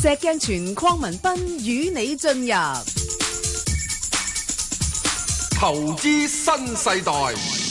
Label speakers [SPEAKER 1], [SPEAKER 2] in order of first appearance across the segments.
[SPEAKER 1] 石鏡泉鄺民彬與你進入
[SPEAKER 2] 投資新世代。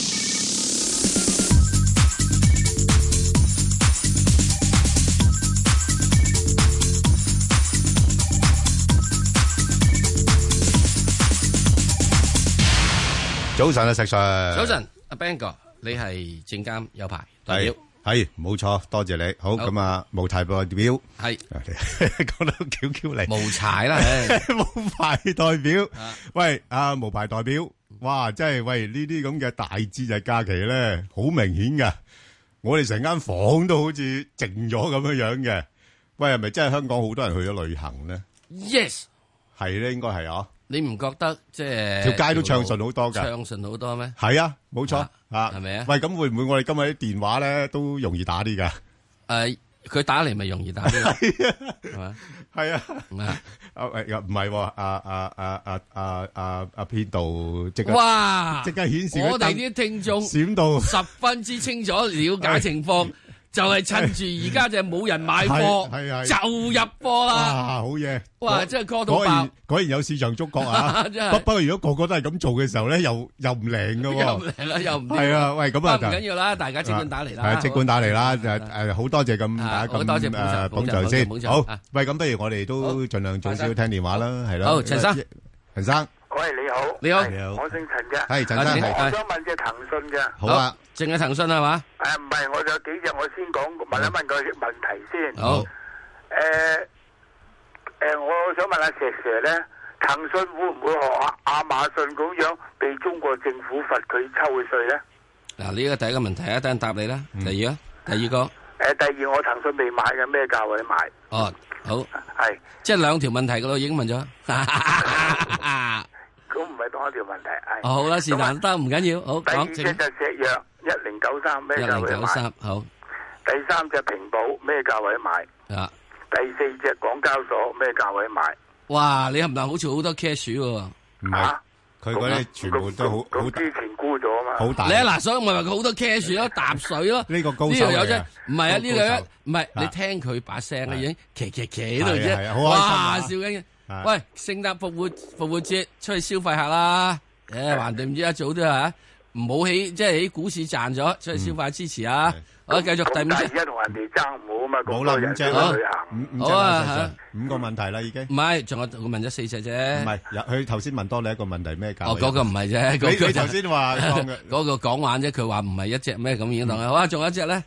[SPEAKER 3] 早晨啊，石 Sir。
[SPEAKER 4] 早晨，阿 Bang 哥，你係證監有牌代表，
[SPEAKER 3] 係冇錯，多謝你。好咁啊，無牌代表
[SPEAKER 4] 係
[SPEAKER 3] 講到翹翹嚟，
[SPEAKER 4] 無牌啦，
[SPEAKER 3] 無牌代表。喂，無牌代表，哇，真係喂呢啲咁嘅大節日假期咧，好明顯噶。我哋成間房都好似靜咗咁樣樣嘅。喂，係咪真係香港好多人去咗旅行咧
[SPEAKER 4] ？Yes，
[SPEAKER 3] 係咧，應該係啊。
[SPEAKER 4] 你唔覺得即係
[SPEAKER 3] 條街都暢順好多㗎？
[SPEAKER 4] 暢順好多咩？
[SPEAKER 3] 係啊，冇錯啊，
[SPEAKER 4] 係咪啊？
[SPEAKER 3] 喂，咁會唔會我哋今日啲電話咧都容易打啲㗎？
[SPEAKER 4] 佢打嚟咪容易打啲，係嘛？
[SPEAKER 3] 係啊，
[SPEAKER 4] 唔係
[SPEAKER 3] 唔係喎，編導即刻
[SPEAKER 4] 哇，
[SPEAKER 3] 即刻顯示
[SPEAKER 4] 我哋啲聽眾
[SPEAKER 3] 閃到
[SPEAKER 4] 十分之清楚了解情況。就係趁住而家就冇人買貨，就入貨啦！
[SPEAKER 3] 哇，好嘢！
[SPEAKER 4] 哇，真係過到爆！
[SPEAKER 3] 果然有市場觸覺啊！不過如果個個都係咁做嘅時候咧，又唔靈噶喎，
[SPEAKER 4] 又唔靈啦，又唔
[SPEAKER 3] 係啊！喂，咁啊，
[SPEAKER 4] 唔緊要啦，大家即管打嚟啦，
[SPEAKER 3] 即管打嚟啦！好多謝咁大家咁捧場先。好，喂，咁不如我哋都盡量早少聽電話啦，係咯。
[SPEAKER 4] 好，陳生，
[SPEAKER 5] 喂，你好，
[SPEAKER 4] 你好，
[SPEAKER 5] 我姓陳嘅，
[SPEAKER 3] 係陳生，
[SPEAKER 5] 我想問隻騰訊嘅，
[SPEAKER 3] 好啊，
[SPEAKER 4] 淨係騰訊係嘛？
[SPEAKER 5] 唔係，我有幾隻，我先問一問個問題先。
[SPEAKER 4] 好，
[SPEAKER 5] 我想問下石 Sir 咧，騰訊會唔會學亞馬遜咁樣被中國政府罰佢抽嘅稅咧？
[SPEAKER 4] 嗱，呢個第一個問題，等陣答你啦。第二個，
[SPEAKER 5] 第二我騰訊未買嘅，咩價位買？
[SPEAKER 4] 哦，好，
[SPEAKER 5] 係，
[SPEAKER 4] 即係兩條問題噶咯，已經問咗。
[SPEAKER 5] 咁唔係當一條問題，係。
[SPEAKER 4] 好啦，是但得，唔緊要，好講。
[SPEAKER 5] 第二隻就石藥1093，咩價位買
[SPEAKER 4] ？1093，好。
[SPEAKER 5] 第三隻平保咩價位買？
[SPEAKER 4] 啊。
[SPEAKER 5] 第四隻港交所咩價位買？
[SPEAKER 4] 哇，你係唔係好似好多 cash 喎？
[SPEAKER 3] 唔係，佢嗰啲全部都好
[SPEAKER 5] 之前沽咗啊嘛。
[SPEAKER 3] 好大。
[SPEAKER 4] 你嗱，所以我咪話佢好多 cash 咯，搭水咯。
[SPEAKER 3] 呢個高手嚟嘅。
[SPEAKER 4] 唔係啊，呢個唔係你聽佢把聲啊，已經騎喺度啫。
[SPEAKER 3] 哇，
[SPEAKER 4] 笑緊。喂，聖誕復活節出去消費下啦！橫掂唔知一早都係唔好即係喺股市賺咗，出去消費支持啊！好，繼續第五隻。
[SPEAKER 5] 而家同人哋爭唔好啊嘛，
[SPEAKER 3] 冇啦，五隻
[SPEAKER 5] 啦，旅行。
[SPEAKER 3] 好啊，5個問題啦，已經。
[SPEAKER 4] 唔係，仲有我問咗4隻啫。
[SPEAKER 3] 唔係，佢頭先問多你一個問題，咩價？
[SPEAKER 4] 哦，嗰個唔係啫。
[SPEAKER 3] 你頭先話
[SPEAKER 4] 嗰個講玩啫，佢話唔係一隻咩咁已經當。好啊，仲有一隻咧。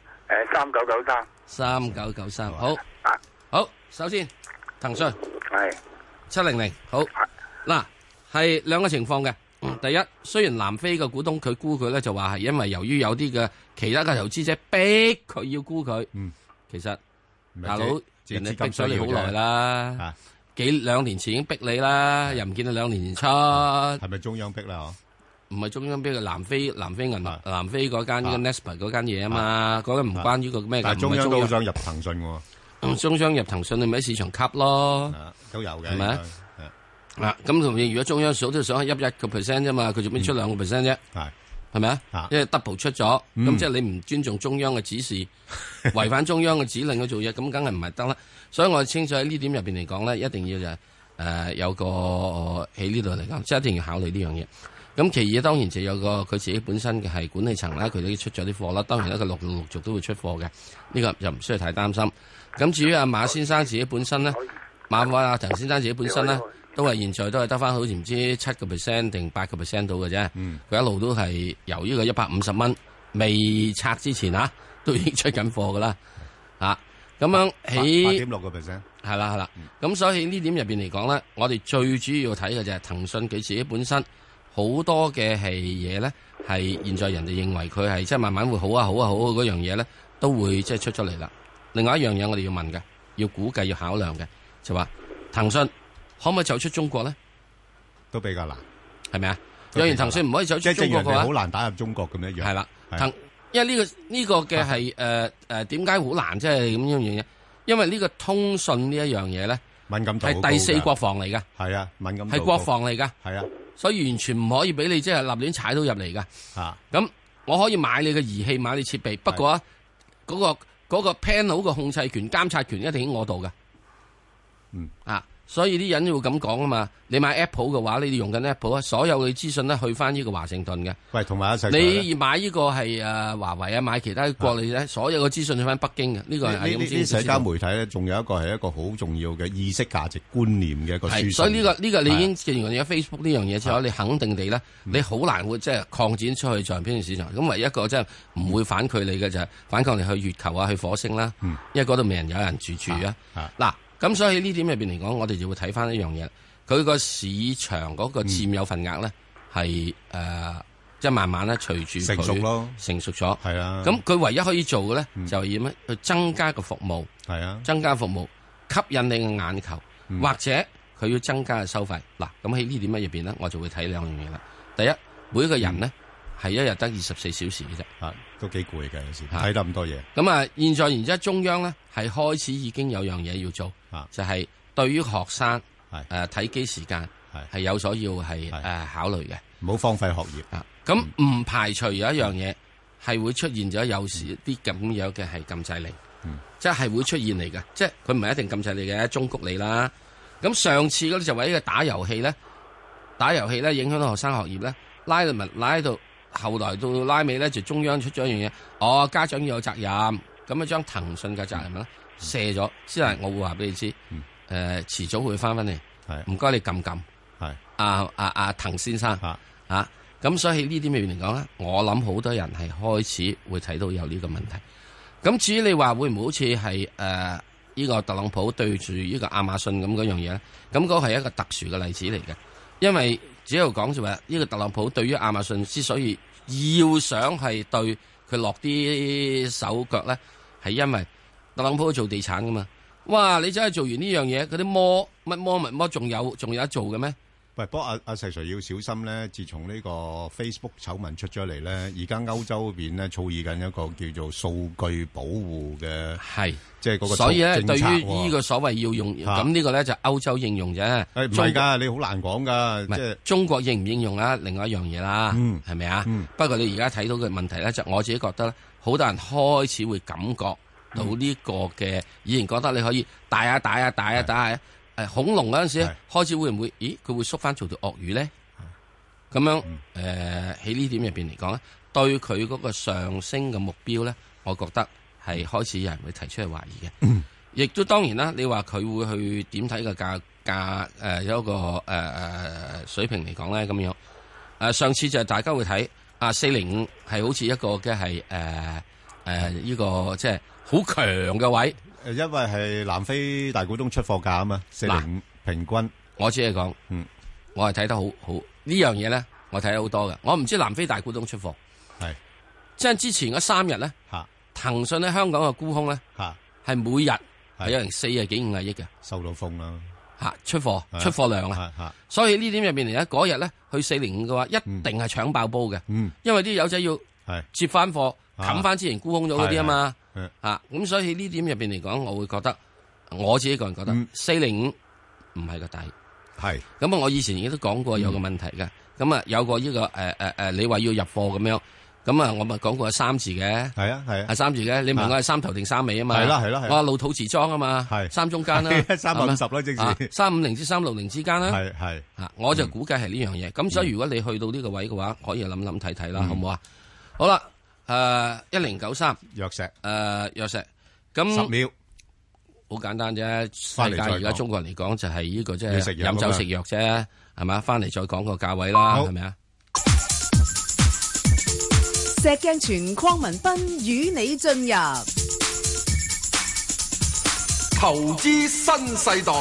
[SPEAKER 5] 3993。
[SPEAKER 4] 3993，好。好，首先騰訊。
[SPEAKER 5] 係。
[SPEAKER 4] 700，好嗱，係兩個情況嘅。第一，雖然南非嘅股東佢沽佢咧，就話係因為由於有啲嘅其他嘅投資者逼佢要沽佢。其實大佬人哋逼咗你好耐啦，2年前已經逼你啦，又唔見到2年前出。
[SPEAKER 3] 係咪中央逼啦？
[SPEAKER 4] 唔係中央逼嘅，南非銀行，南非嗰間嘅 Naspers 嗰間嘢啊嘛，嗰間唔關於個咩嘅。
[SPEAKER 3] 但係中央都想入騰訊喎。
[SPEAKER 4] 中央入騰訊，你咪喺市場吸咯，
[SPEAKER 3] 都有嘅，
[SPEAKER 4] 係咪啊？咁同如果中央數都想係1%啫嘛，佢做咩出2%啫？係咪啊？因為 double 出咗，咁即係你唔尊重中央嘅指示，違反中央嘅指令去做嘢，咁梗係唔係得啦。所以我清楚喺呢點入邊嚟講咧，一定要就有個喺呢度嚟講，即係一定要考慮呢樣嘢。咁其二當然就有個佢自己本身嘅係管理層啦，佢都出咗啲貨啦。當然咧，佢陸續都會出貨嘅，呢個就唔需要太擔心。咁至於阿馬先生自己本身咧，馬化騰先生自己本身咧，都係現在都係得翻好似唔知7% 定8% 到嘅啫。佢一路都係由呢個150蚊未拆之前都已經出緊貨噶啦。咁樣起
[SPEAKER 3] 8.6%，
[SPEAKER 4] 係啦。咁所以呢點入邊嚟講咧，我哋最主要睇嘅就係騰訊佢自己本身好多嘅係嘢咧，係現在人哋認為佢係即係慢慢會好嗰樣嘢咧，都會即係出咗嚟啦。另外一樣嘢我哋要問嘅，要估計要考量嘅，就話騰訊可唔可以走出中國咧？
[SPEAKER 3] 都比較難，
[SPEAKER 4] 係咪啊？若然騰訊唔可以走出中國嘅話，
[SPEAKER 3] 好難打入中國咁一樣。
[SPEAKER 4] 係啦，因為呢個嘅係點解好難？即係咁樣嘢？因為呢個通訊呢一樣嘢咧，
[SPEAKER 3] 敏感度
[SPEAKER 4] 係第4國防嚟㗎。
[SPEAKER 3] 係啊，敏感度
[SPEAKER 4] 係國防嚟㗎。
[SPEAKER 3] 係啊，
[SPEAKER 4] 所以完全唔可以俾你即係立亂踩到入嚟㗎。咁我可以買你嘅儀器，買你設備，不過嗰個 panel 嘅控制權、監察權一定喺我度㗎。 所以啲人會咁講啊嘛。你買 Apple 嘅話，你哋用緊 Apple 啊，所有嘅資訊咧去翻呢個華盛頓嘅。
[SPEAKER 3] 喂，同埋
[SPEAKER 4] 你買呢個係華為啊，買其他國內咧，所有嘅資訊去翻北京嘅。呢個係咁先。
[SPEAKER 3] 社交媒體咧，仲有一個係一個好重要嘅意識價值觀念嘅一個輸送。
[SPEAKER 4] 所以呢個你已經既然有 Facebook 呢樣嘢之後，你肯定地咧，你好難會即係擴展出去在邊個市場。咁唯一一個即係唔會反距離嘅就係反抗你去月球啊，去火星啦。因為嗰度未有人住啊。嗱。咁所以呢點入邊嚟講，我哋就會睇翻一樣嘢，佢個市場嗰個佔有份額咧係即係慢慢咧隨住
[SPEAKER 3] 成熟咯，
[SPEAKER 4] 成熟咗。
[SPEAKER 3] 係啊。咁
[SPEAKER 4] 佢唯一可以做嘅咧，就係要咩？去增加個服務。係啊。增加服務，吸引你嘅眼球，或者佢要增加嘅收費。嗱，咁喺呢點乜入邊咧，我就會睇兩樣嘢啦。第一，每一個人咧係一日得24小時嘅啫。
[SPEAKER 3] 都幾攰嘅有時睇得咁多嘢。
[SPEAKER 4] 咁現在然之後中央咧係開始已經有樣嘢要做，就係對於學生睇機時間係有所要係考慮嘅，
[SPEAKER 3] 唔好荒廢學業。
[SPEAKER 4] 咁唔排除有一樣嘢係會出現咗有時啲咁樣嘅係禁制令，即係會出現嚟嘅，即係佢唔係一定禁制你嘅，忠告你啦。咁上次嗰啲就為呢個打遊戲咧影響到學生學業咧，拉到。後來到拉尾咧，就中央出咗一樣嘢，家長要有責任，咁啊將騰訊嘅責任咧卸咗，先係我會話俾你知，遲早會翻嚟，唔該你撳，係滕先生，咁所以呢啲面嚟講咧，我諗好多人係開始會睇到有呢個問題。咁至於你話會唔會好似係呢個特朗普對住呢個亞馬遜咁嗰樣嘢咧？咁嗰個係一個特殊嘅例子嚟嘅，因為。只有講就話呢個特朗普對於亞馬遜之所以要想係對佢落啲手腳咧，係因為特朗普做地產噶嘛。哇！你真係做完呢樣嘢，嗰啲乜仲有得做嘅咩？
[SPEAKER 3] 喂，不過阿石 Sir 要小心咧。自從呢個 Facebook 醜聞出咗嚟咧，而家歐洲嗰邊咧草擬緊一個叫做數據保護嘅，即係嗰個。所以咧，
[SPEAKER 4] 對於呢個所謂要用咁呢個咧就歐洲應用啫。
[SPEAKER 3] 唔係㗎，你好難講㗎。即係中國
[SPEAKER 4] 應唔應用啊？另外一樣嘢啦，係咪啊？不過你而家睇到嘅問題咧，就我自己覺得咧，好多人開始會感覺到呢個嘅，以前覺得你可以打下。恐龍嗰陣時開始會唔會？咦，佢會縮翻做條鱷魚咧？咁樣喺呢點入邊嚟講咧，對佢嗰個上升嘅目標咧，我覺得係開始有人會提出去懷疑嘅。亦都當然啦，你話佢會去點睇個價有一個水平嚟講咧咁樣。上次就係大家會睇405係好似一個嘅係呢個即係好強嘅位。
[SPEAKER 3] 因為係南非大股東出貨價啊嘛，405平均。
[SPEAKER 4] 我只係講，我係睇得好呢樣嘢咧，我睇得好多嘅。我唔知南非大股東出貨，即係之前嗰3日咧，騰訊喺香港嘅沽空咧，係每日係有成40幾50億嘅，
[SPEAKER 3] 收到風啦。
[SPEAKER 4] 出貨量啊，所以呢點入邊嚟咧，嗰日咧去405嘅話，一定係搶爆煲嘅，因為啲友仔要接翻貨，冚翻之前沽空咗嗰啲啊嘛。咁所以呢點入邊嚟講，我會覺得我自己個人覺得405唔係個底，係咁我以前亦都講過有個問題嘅，咁有個呢個你話要入貨咁樣，咁我咪講過係3字嘅，係3字嘅，你問我係3頭定3尾啊嘛，係啦，我話老土瓷裝啊嘛，3中間啦，350啦，即係350至360之間啦，係我就估計係呢樣嘢，咁所以如果你去到呢個位嘅話，可以諗睇睇啦，好唔好啊？好啦。1093
[SPEAKER 3] 藥石，
[SPEAKER 4] 藥石，咁
[SPEAKER 3] 10秒，
[SPEAKER 4] 好簡單啫。世界而家中國人嚟講就係呢個即係飲酒食藥啫，係咪？翻嚟再講個價位啦，係咪啊？
[SPEAKER 1] 石鏡泉鄺民彬與你進入
[SPEAKER 2] 投資新世代。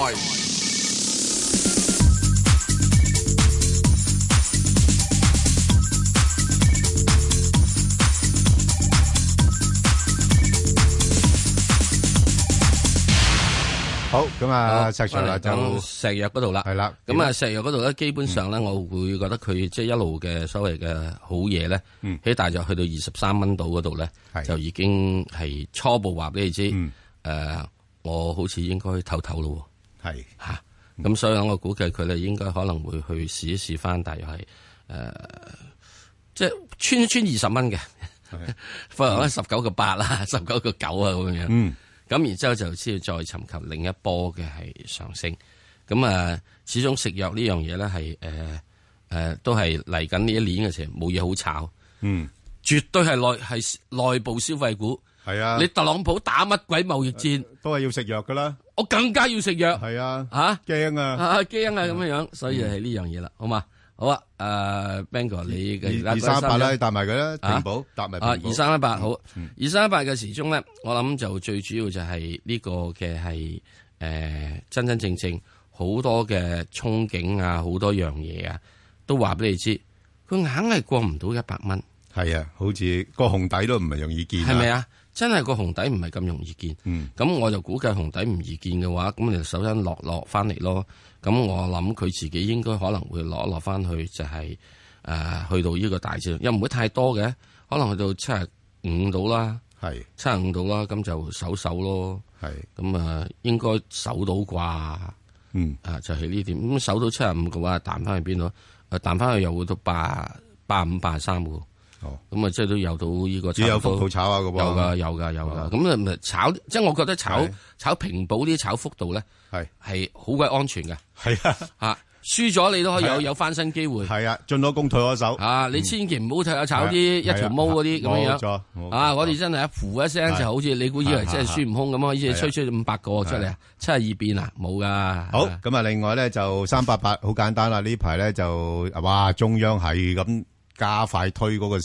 [SPEAKER 3] 好，咁石 Sir 就
[SPEAKER 4] 石藥嗰度啦，係啦。咁石藥嗰度咧，基本上咧，我會覺得佢即係一路嘅所謂嘅好嘢咧，喺大約去到23蚊度嗰度咧，就已經係初步話俾你知。我好似應該唞咯。係吓，咁所以我估計佢咧應該可能會去試一試翻，大約係即係穿20蚊嘅，可能19.8啦，19.9啊咁樣。 咁然之後就先要再尋求另一波嘅係上升。咁啊，始終食藥呢樣嘢咧係都係嚟緊呢一年嘅時候冇嘢好炒。絕對係內部消費股。
[SPEAKER 3] 係啊，
[SPEAKER 4] 你特朗普打乜鬼貿易戰，
[SPEAKER 3] 都係要食藥噶啦。
[SPEAKER 4] 我更加要食藥。
[SPEAKER 3] 係啊，
[SPEAKER 4] 驚
[SPEAKER 3] 啊
[SPEAKER 4] 驚啊咁樣，所以係呢樣嘢啦，好嘛？好啊，Ben 哥，你嘅
[SPEAKER 3] 238啦，搭埋佢啦，平保搭埋。
[SPEAKER 4] 2318好，2318嘅時鐘咧，我諗就最主要就係呢個嘅係真真正正好多嘅憧憬啊，好多樣嘢啊，都話俾你知，佢硬係過唔到100蚊。
[SPEAKER 3] 係啊，好似個紅底都唔係容易見。
[SPEAKER 4] 係咪啊？真係個紅底唔係咁容易見。咁我就估計紅底唔易見嘅話，咁你就首先落翻嚟咯。咁我諗佢自己應該可能會落翻去，就係去到呢個大致，又唔會太多嘅，可能去到75度啦。係75度啦，咁就守咯。係咁應該守到啩。就係呢點。咁守到75嘅話，彈翻去邊度？彈翻去又會到85、83嘅。咁即係都有到呢個，
[SPEAKER 3] 只有幅度炒下嘅噃，
[SPEAKER 4] 有噶。咁咪炒，即係我覺得炒平保啲炒幅度咧，係好鬼安全嘅。係啊，輸咗你都可以有翻身機會。係啊，進咗攻退咗守。你千祈唔好炒啲一條毛嗰啲咁樣樣。我哋真係一呼一聲就好似你估以為真係孫悟空咁啊，好似吹500個出嚟啊，72變啊，冇噶。好，
[SPEAKER 3] 咁啊，另外咧就388好簡單啦，呢排咧就中央係咁加快推嗰個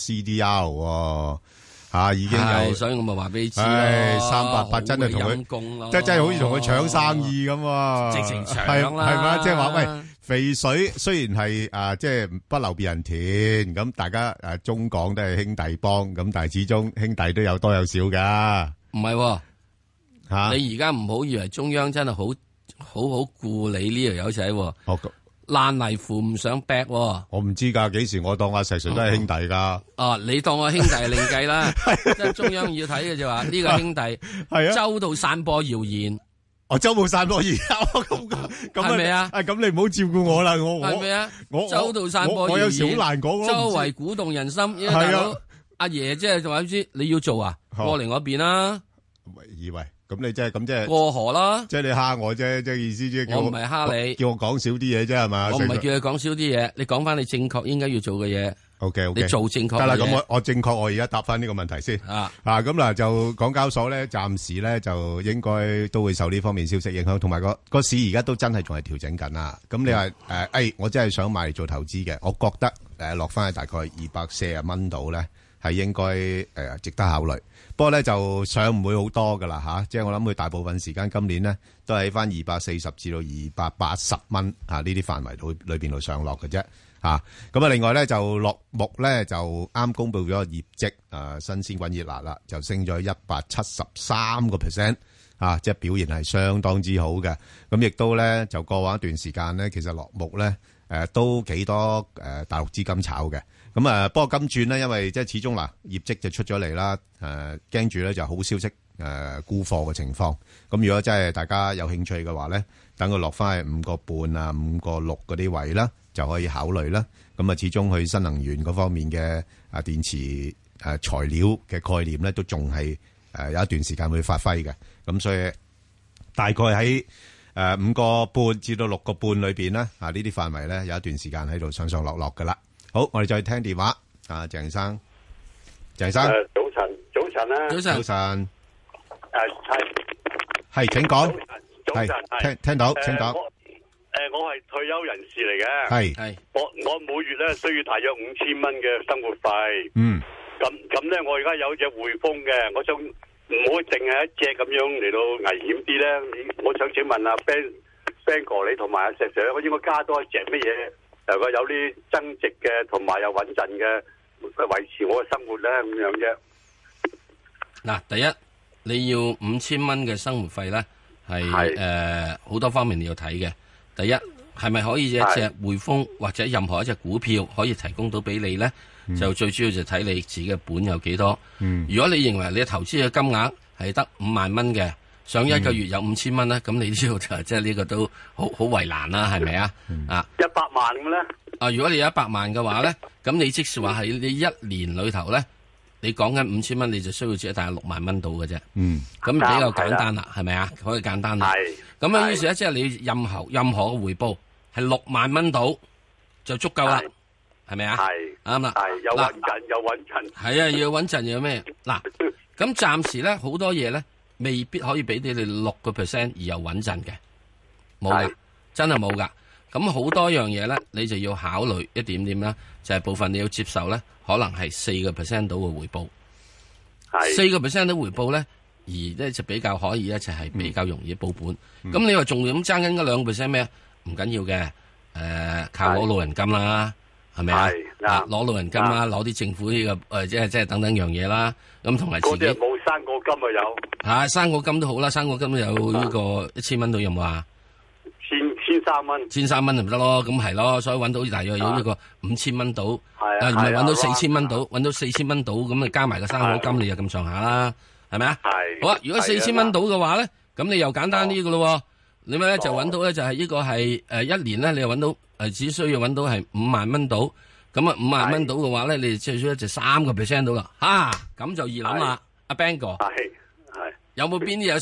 [SPEAKER 3] CDR 已經有，
[SPEAKER 4] 所以我咪話俾你知
[SPEAKER 3] 388真係同佢，真係好似同佢搶生意咁，
[SPEAKER 4] 直情搶啦，
[SPEAKER 3] 係嘛？即係話喂，肥水雖然係即係不流別人田，咁大家中港都係兄弟幫，咁但係始終兄弟都有多有少噶，
[SPEAKER 4] 唔係你而家唔好以為中央真係好顧你呢條友仔。爛泥扶唔上壁，
[SPEAKER 3] 我唔知噶，幾時我當阿石 Sir 都係兄弟噶。
[SPEAKER 4] 你當我兄弟另計啦，即係中央要睇嘅就話呢個兄弟係周到散播謠言。
[SPEAKER 3] 周到散播謠言，咁
[SPEAKER 4] 係咪啊？
[SPEAKER 3] 咁你唔好照顧我啦，我
[SPEAKER 4] 係咪啊？周到散播謠言，
[SPEAKER 3] 我有時好難講，
[SPEAKER 4] 周圍鼓動人心。係啊，阿爺即係話知你要做啊，過嚟我邊啦。
[SPEAKER 3] 以為。咁你即係
[SPEAKER 4] 過河啦，
[SPEAKER 3] 即係你蝦我啫，即係意思即係
[SPEAKER 4] 我唔係蝦你，
[SPEAKER 3] 叫我講少啲嘢啫係嘛？
[SPEAKER 4] 我唔係叫你講少啲嘢，你講翻你正確應該要做嘅嘢。
[SPEAKER 3] OK，
[SPEAKER 4] 你做正確
[SPEAKER 3] 得啦。咁我正確，我而家答翻呢個問題先。咁嗱就港交所咧，暫時咧就應該都會受呢方面消息影響，同埋個市而家都真係仲係調整緊啦。咁你話我真係想買嚟做投資嘅，我覺得落翻去大概240蚊度咧，係應該值得考慮。不過咧就上唔會好多噶啦即係我諗佢大部分時間今年咧都係喺翻240至到280蚊呢啲範圍裏邊度上落嘅啫咁啊，另外咧就落木咧就啱公布咗個業績新鮮滾熱辣啦，就升咗173%即係表現係相當之好嘅。咁亦都咧就過往一段時間咧，其實落木咧都幾多大陸資金炒嘅。咁不過今轉咧，因為即係始終業績就出咗嚟啦，驚住咧就好消息沽貨嘅情況。咁如果真係大家有興趣嘅話咧，等佢落翻去5個半啊、5個6嗰啲位啦，就可以考慮啦。咁始終去新能源嗰方面嘅電池材料嘅概念咧，都仲係有一段時間會發揮嘅。咁所以大概喺5個半至到6個半裏邊咧，呢啲範圍咧有一段時間喺度上上落落噶啦。好，我哋再聽電話。鄭生，早晨啊，早晨，係，請講，係，聽到，請講。
[SPEAKER 6] 我係退休人士嚟嘅，係，我每月咧需要大約5000蚊嘅生活費。咁咧，我而家有隻匯豐嘅，我想唔好淨係一隻咁樣嚟到危險啲咧。我想請問阿 Ben 哥，你同埋阿石 Sir，我應該加多一隻乜嘢？如果有啲增值嘅，同埋又穩陣嘅，維持我嘅生活咧，咁樣啫。
[SPEAKER 4] 嗱，第一你要5000蚊嘅生活費咧，係好多方面你要睇嘅。第一係咪可以一隻匯豐或者任何一隻股票可以提供到俾你咧？就最主要就睇你自己嘅本有幾多。如果你認為你投資嘅金額係得5萬蚊嘅，上一個月有5000蚊咧，咁你呢度就即係呢個都好為難啦，係咪啊？100
[SPEAKER 6] 萬咁咧？
[SPEAKER 4] 如果你有100萬嘅話咧，咁你即使話係你一年裏頭咧， 你講緊5000蚊，你就需要只係大約6萬蚊到嘅啫。咁比較簡單啦，係咪啊？可以簡單啦。咁樣於是咧，即係你任何嘅回報係6萬蚊到就足夠啦，係咪啊？啱啦。
[SPEAKER 6] 有穩陣。係
[SPEAKER 4] 啊，要穩陣要咩？嗱，咁暫時咧好多嘢咧未必可以俾你哋6%而又穩陣嘅，冇噶，真係冇噶。咁好多樣嘢咧，你就要考慮一點點啦，就係部分你要接受咧，可能係4%到嘅回報。4%到回報咧，而咧就比較可以咧，就係比較容易保本。咁你話仲咁爭緊嗰2%咩？唔緊要嘅，靠攞老人金啦，係咪啊？攞老人金啦，攞啲政府呢個即係等等樣嘢啦。咁同埋自己
[SPEAKER 6] 冇生果金啊有。
[SPEAKER 4] 生果金都好啦，生果金都有呢個1000蚊到有冇啊
[SPEAKER 6] ？13蚊
[SPEAKER 4] ，13蚊就唔得咯，咁係咯，所以揾到大約有呢個5000蚊到，唔係揾到4000蚊到，揾到4000蚊到，咁你加埋個生果金，你就咁上下啦，係咪啊？好啊，如果4000蚊到嘅話咧，咁你又簡單啲嘅咯，你咪咧就揾到咧就係呢個係1年咧，你又揾到只需要揾到係5萬蚊到，咁啊5萬蚊到嘅話咧，你最少就3% 到啦，咁就易諗啦，阿 Bang 哥，有冇邊啲有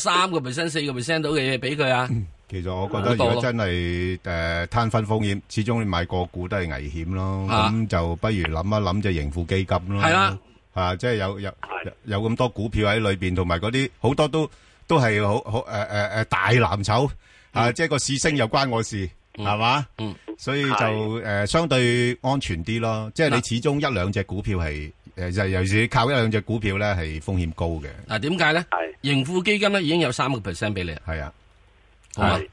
[SPEAKER 4] 3%、4% 到嘅嘢俾佢啊？
[SPEAKER 3] 其實我覺得如果真係攤分風險，始終你買個股都係危險咯。咁就不如諗一諗隻盈富基金咯。係啦，即係有咁多股票喺裏邊，同埋嗰啲好多都係好大藍籌即係個市升又關我事，係嘛？所以就相對安全啲咯。即係你始終一兩隻股票係尤其是靠一兩隻股票咧係風險高嘅。
[SPEAKER 4] 嗱，點解咧？盈富基金咧已經有3%俾你。係啊。係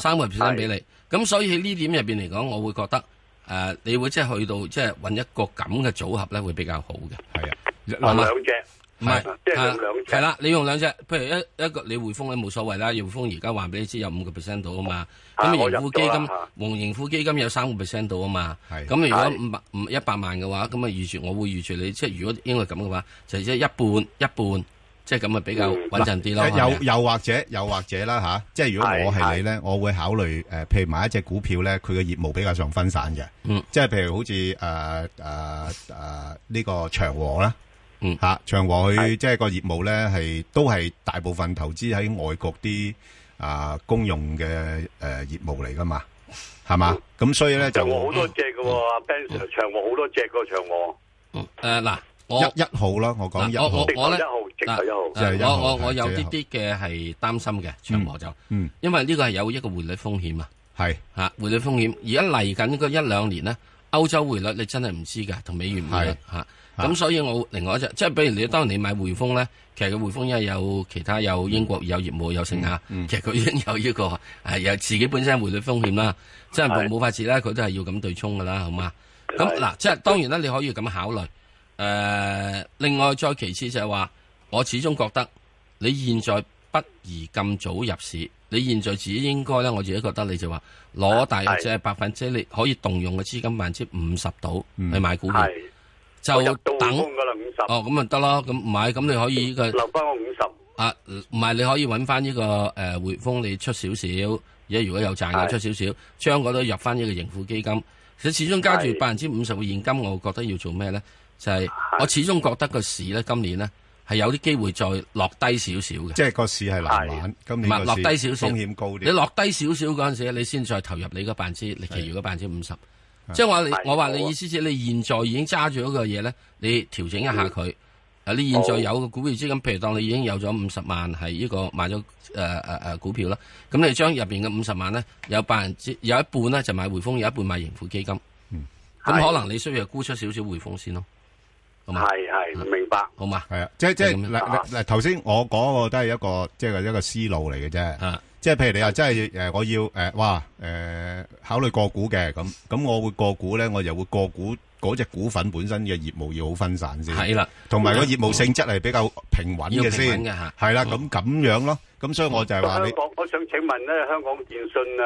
[SPEAKER 4] 3%俾你，咁所以喺呢點入邊嚟講，我會覺得你會即係去到即係揾一個咁嘅組合咧，會比較好嘅。係啊，
[SPEAKER 6] 用兩隻，
[SPEAKER 4] 唔係
[SPEAKER 6] 即係用兩隻。
[SPEAKER 4] 係啦，你用兩隻，譬如一個你匯豐咧冇所謂啦，匯豐而家話俾你知有5% 到啊嘛。咁盈富基金，盈富基金有3% 到啊嘛。咁如果100萬嘅話，咁啊我會預住你，即係如果應該咁嘅話，就即係一半。即係咁啊，比較穩陣啲咯。又或者啦吓，即係如果我係你咧，我會考慮譬如買一隻股票咧，佢嘅業務比較上分散嘅。即係譬如好似呢個長和啦，長和佢即係個業務咧都係大部分投資喺外國啲公用嘅業務嚟噶嘛，係嘛？咁所以咧就
[SPEAKER 6] 長和好多隻嘅喎，Ben Sir，長和好多隻個長和。
[SPEAKER 4] 嗱。
[SPEAKER 3] 一號啦，我講1號，
[SPEAKER 4] 我咧
[SPEAKER 3] 我
[SPEAKER 4] 有啲嘅係擔心嘅長和就，因為呢個係有一個匯率風險啊，係匯率風險。而家嚟緊嗰1-2年呢，歐洲匯率你真係唔知噶，同美元匯率咁所以我另外一隻，即係比如你當你買匯豐咧，其實個匯豐因為有其他有英國有業務有成其實佢已經有呢個有自己本身匯率風險啦，即係冇法子啦，佢都係要咁對沖噶啦，好嘛？咁嗱，即係當然啦，你可以咁考慮。另外再其次就係話，我始終覺得你現在不宜咁早入市，你現在自己應該咧，我自己覺得你就話攞大約即係你可以動用嘅資金50%到去買股票，就等咁咪得咯，咁唔係咁你可以呢個
[SPEAKER 6] 留翻我50
[SPEAKER 4] 唔係你可以揾翻呢個匯豐你出少少，而家如果有賺嘅出少少，將嗰度入翻呢個盈富基金，其實始終加住50%嘅現金，我覺得要做咩咧？就係我始終覺得個市咧，今年咧係有啲機會再落低少少嘅。
[SPEAKER 3] 即係個市係難玩，今年個市
[SPEAKER 4] 落低少少，
[SPEAKER 3] 風險高啲。
[SPEAKER 4] 你落低少少嗰陣時，你先再投入你嗰其餘嗰50%。即係我話你意思即係你現在已經揸住嗰個嘢咧，你調整一下佢。你現在有個股票資金，譬如當你已經有咗50萬係呢個買咗股票啦，咁你將入邊嘅50萬咧有一半咧就買匯豐，有一半買盈富基金。咁可能你需要沽出少少匯豐先咯。
[SPEAKER 6] 係明白，
[SPEAKER 4] 好嘛？
[SPEAKER 3] 係啊，即係嗱頭先我講個都係一個思路嚟嘅啫。即係譬如你話真係我要考慮個股嘅咁我會個股咧，我又會個股嗰隻股份本身嘅業務要好分散先。係啦，同埋個業務性質係比較平穩嘅先。係啦，咁樣咯。咁所以我就係話你，
[SPEAKER 6] 我想請問咧，香港電訊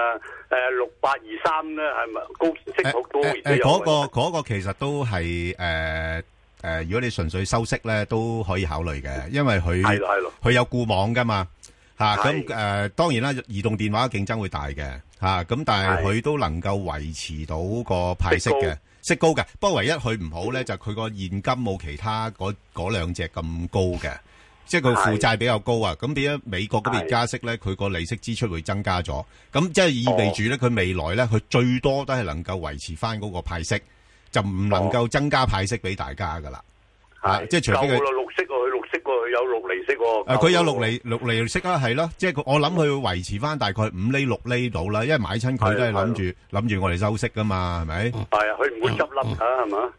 [SPEAKER 6] 6823咧係咪高息好高？
[SPEAKER 3] 嗰個其實都係如果你純粹收息咧，都可以考慮嘅，因為佢有固網噶嘛， 嚇。咁當然啦，移動電話競爭會大嘅嚇，咁但係佢都能夠維持到個派息嘅息高嘅。不過唯一佢唔好咧，就佢個現金冇其他嗰兩隻咁高嘅。即係佢負債比較高啊，咁變咗美國嗰邊加息咧，佢個利息支出會增加咗，咁即係意味住咧，佢未來咧，佢最多都係能夠維持翻嗰個派息，就唔能夠增加派息俾大家噶啦。即係除非佢
[SPEAKER 6] 綠色喎，佢綠色喎，佢有6厘息喎。
[SPEAKER 3] 佢有6厘息啊，係咯，即係我諗佢會維持翻大概5厘6厘到啦，因為買親佢都係諗住我哋收息噶嘛，係咪？係
[SPEAKER 6] 啊，佢唔會執笠㗎，係嘛？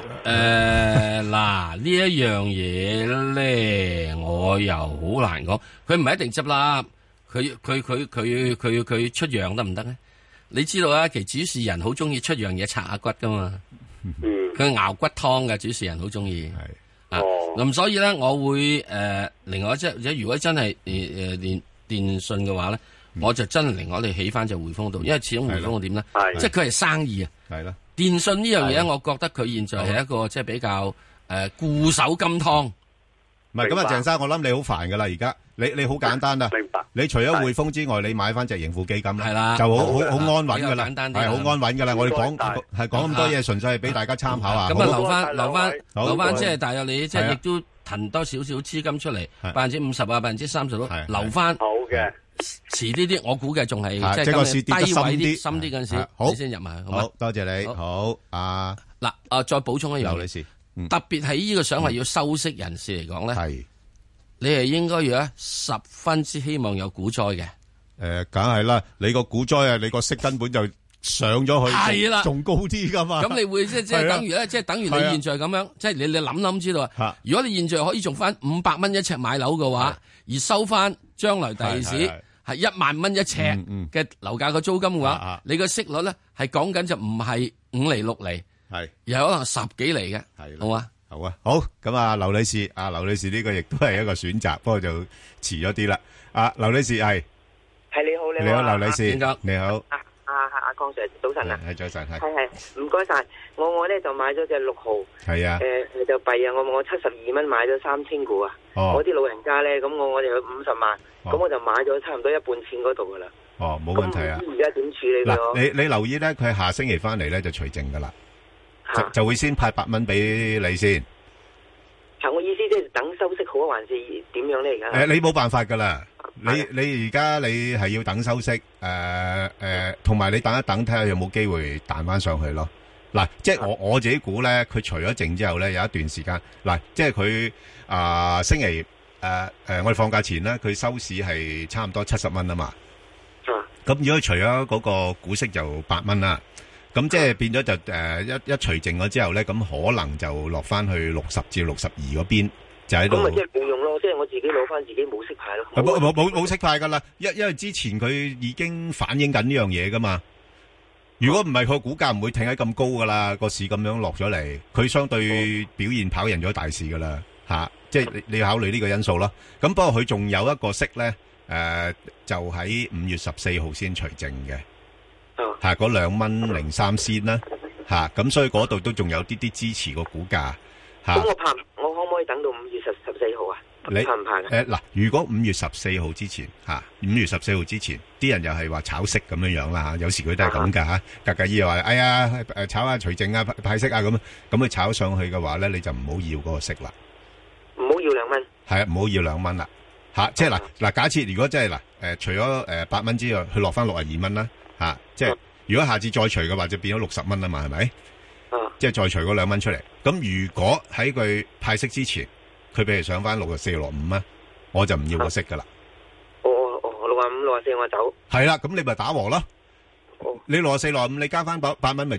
[SPEAKER 4] 嗱呢一樣嘢咧，我又好難講。佢唔係一定執笠，佢出樣得唔得咧？你知道啊，其實主持人好中意出樣嘢拆下骨噶嘛。佢熬骨湯嘅主持人好中意。咁所以咧，我會另外即係如果真係電信嘅話咧，我就真係另外我哋起翻就匯豐度，因為始終匯豐點咧，即係佢係生意啊。係咯。電信呢樣嘢，我覺得佢現在係一個即係比較固守金湯。唔係咁啊，鄭生，我諗你好煩噶啦，而家你好簡單啦。明白。你除咗匯豐之外，你買翻隻盈富基金啦，係啦，就好安穩噶啦，係好安穩噶啦。我哋講咁多嘢，純粹係俾大家參考啊。咁啊，留翻，即係大約你即係亦都騰多少少資金出嚟，50%啊，30%都留翻。好嘅。遲啲我估計仲係即係個市跌得深啲嗰陣時，你先入埋。好多謝你。好嗱，再補充一樣，劉女士，特別係呢個想話要收息人士嚟講咧，係你係應該要十分之希望有股災嘅。梗係啦，你個股災啊，你個息根本就上咗去，係啦，仲高啲噶嘛。咁你會即係等於咧，即係等於你現在咁樣，即係你諗知道啊。如果你現在可以仲翻500蚊一尺買樓嘅話，而收翻將來第二時。係1萬蚊一尺嘅樓價個租金嘅話，你個息率咧係講緊就唔係5厘6厘，係而係可能10幾厘嘅，係好啊，好啊，好咁啊，劉女士，劉女士呢個亦都係一個選擇，不過就遲咗啲啦。劉女士係你好，劉女士，你好，
[SPEAKER 7] 阿鄺 Sir 早晨啊，
[SPEAKER 3] 係早晨，
[SPEAKER 7] 係唔該晒，我咧就買咗隻6號，係啊，就弊啊，我72蚊買咗3000股啊，我啲老人家咧，咁我哋有50萬。咁我就買咗差唔多一半錢嗰度噶啦。
[SPEAKER 3] 冇問題啊。
[SPEAKER 7] 而家點處理咯？
[SPEAKER 3] 你留意咧，佢下星期翻嚟咧就除淨噶啦，就會先派8蚊俾你先。
[SPEAKER 7] 係我意思即係等收息好啊，還是點樣咧？而家
[SPEAKER 3] 你冇辦法噶啦。你而家你係要等收息，同埋你等一等睇下有冇機會彈翻上去咯。嗱，即係我自己估咧，佢除咗淨之後咧，有一段時間，嗱，即係佢星期。我哋放假前咧，佢收市係差唔多70蚊啊嘛。咁如果除咗嗰個股息就8蚊啦，咁即係變咗就一除淨咗之後咧，咁可能就落翻去60至62嗰邊，就喺度。咁咪即係冇用咯，即係我自己攞翻自己冇息派咯。冇息派噶啦，因為之前佢已經反映緊呢樣嘢噶嘛。如果唔係，佢股價唔會挺喺咁高噶啦，個市咁樣落咗嚟，佢相對表現跑贏咗大市噶啦。即係你要考慮呢個因素咯。咁不過佢仲有一個息咧，就喺5月14號先除淨嘅，嗰2蚊03仙啦，咁所以嗰度都仲有啲支持個股價。咁我可唔可以等到5月14號啊？你怕唔怕嘅？嗱，如果5月14號之前5月14號之前，啲人又係話炒息咁樣樣啦，有時佢都係咁噶嚇。格格姨又話：哎呀，炒下除淨啊，派息啊咁佢炒上去嘅話咧，你就唔好要嗰個息啦。唔好要2蚊，係啊，唔好要2蚊啦，即係嗱，假設如果真係除咗8蚊之外，佢落翻62蚊啦，即係如果下次再除嘅話，就變咗60蚊啊嘛，係咪？即係再除嗰2蚊出嚟。咁如果喺佢派息之前，佢譬如上翻64、65啊，我就唔要個息噶啦。65、64我走。係啦，咁你咪打和咯。你64、65，你加翻8蚊，咪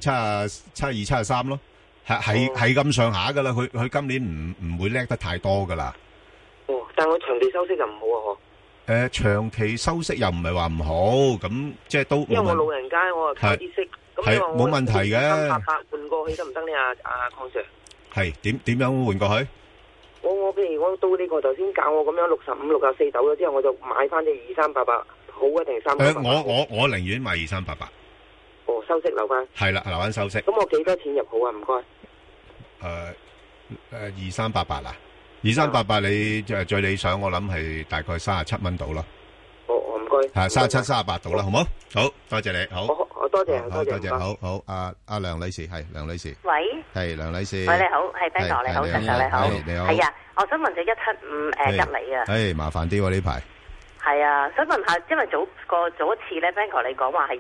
[SPEAKER 3] 72、73咯。係咁上下噶啦，佢今年唔會叻得太多噶啦。但我長期收息就唔好啊，長期收息又唔係話唔好，咁即係都。因為我老人家，我啊靠啲息，咁你話我冇問題嘅。300換過去得唔得呢？阿鄺 Sir。係點樣換過去？我譬如我到呢個頭先教我咁樣65、64走咗之後，我就買翻隻2388，好啊定388？我寧願買2388。收息留翻係啦，留翻收息。咁我幾多錢入好啊？唔該。2388啊，2388你最理想，我諗係大概37蚊到咯。
[SPEAKER 7] 該。
[SPEAKER 3] 係37、38度啦，好冇？好多謝你，好。
[SPEAKER 7] 我多謝，
[SPEAKER 3] 多謝，好。阿梁女士係梁女士。
[SPEAKER 8] 喂。
[SPEAKER 3] 係梁女士。
[SPEAKER 8] 喂，你好，係 Ben 哥，你好，石 Sir 你好。
[SPEAKER 3] 你好。
[SPEAKER 8] 係啊，我想問隻175吉利啊。
[SPEAKER 3] 麻煩啲喎呢排。
[SPEAKER 8] 係啊，想問下，因為早一次咧 Ben 哥你講話係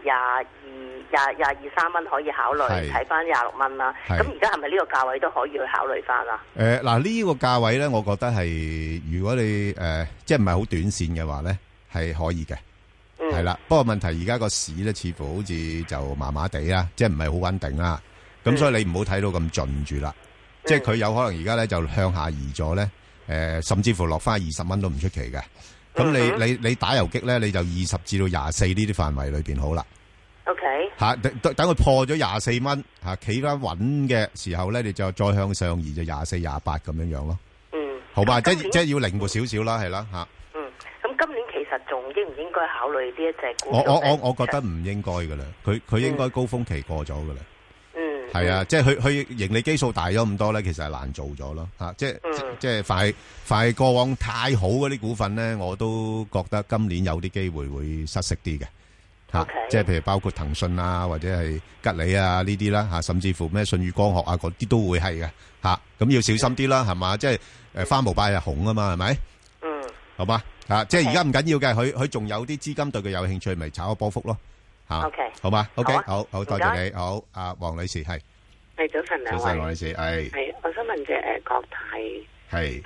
[SPEAKER 8] 22、3蚊可以考慮，睇翻26蚊啦。咁而家係咪呢個價位都可以去考慮翻啊？
[SPEAKER 3] 嗱呢個價位咧，我覺得係如果你即係唔係好短線嘅話咧，係可以嘅。係啦，不過問題而家個市咧，似乎好似就麻麻地啦，即係唔係好穩定啦。咁所以你唔好睇到咁盡住啦。即係佢有可能而家咧就向下移咗咧，甚至乎落翻20蚊都唔出奇嘅。咁你打游擊咧，你就20至到24呢啲範圍裏邊好啦。
[SPEAKER 8] OK。
[SPEAKER 3] 等佢破咗24蚊企翻穩嘅時候咧，你就再向上移就24、28咁樣樣咯。好吧，即係要靈活少少啦，係啦吓。
[SPEAKER 8] 咁今年其實仲應唔應該考慮呢一隻股？
[SPEAKER 3] 我覺得唔應該噶啦，佢應該高峰期過咗噶啦。係啊，即係佢盈利基數大咗咁多咧，其實係難做咗咯吓。即係快過往太好嗰啲股份咧，我都覺得今年有啲機會會失色啲嘅吓。即係譬如包括騰訊啊，或者係吉利啊呢啲啦吓，甚至乎咩舜宇光學啊嗰啲都會係嘅吓。咁要小心啲啦，係嘛？即係花無百日紅啊嘛，係咪？好嘛即係而家唔緊要嘅，佢仲有啲資金對佢有興趣，咪炒個波幅咯。
[SPEAKER 8] OK，
[SPEAKER 3] 好嘛 ？OK，好多謝你。好，阿黃女士係
[SPEAKER 9] 早晨兩位。
[SPEAKER 3] 早晨，黃女士
[SPEAKER 9] 係，我想問隻國泰係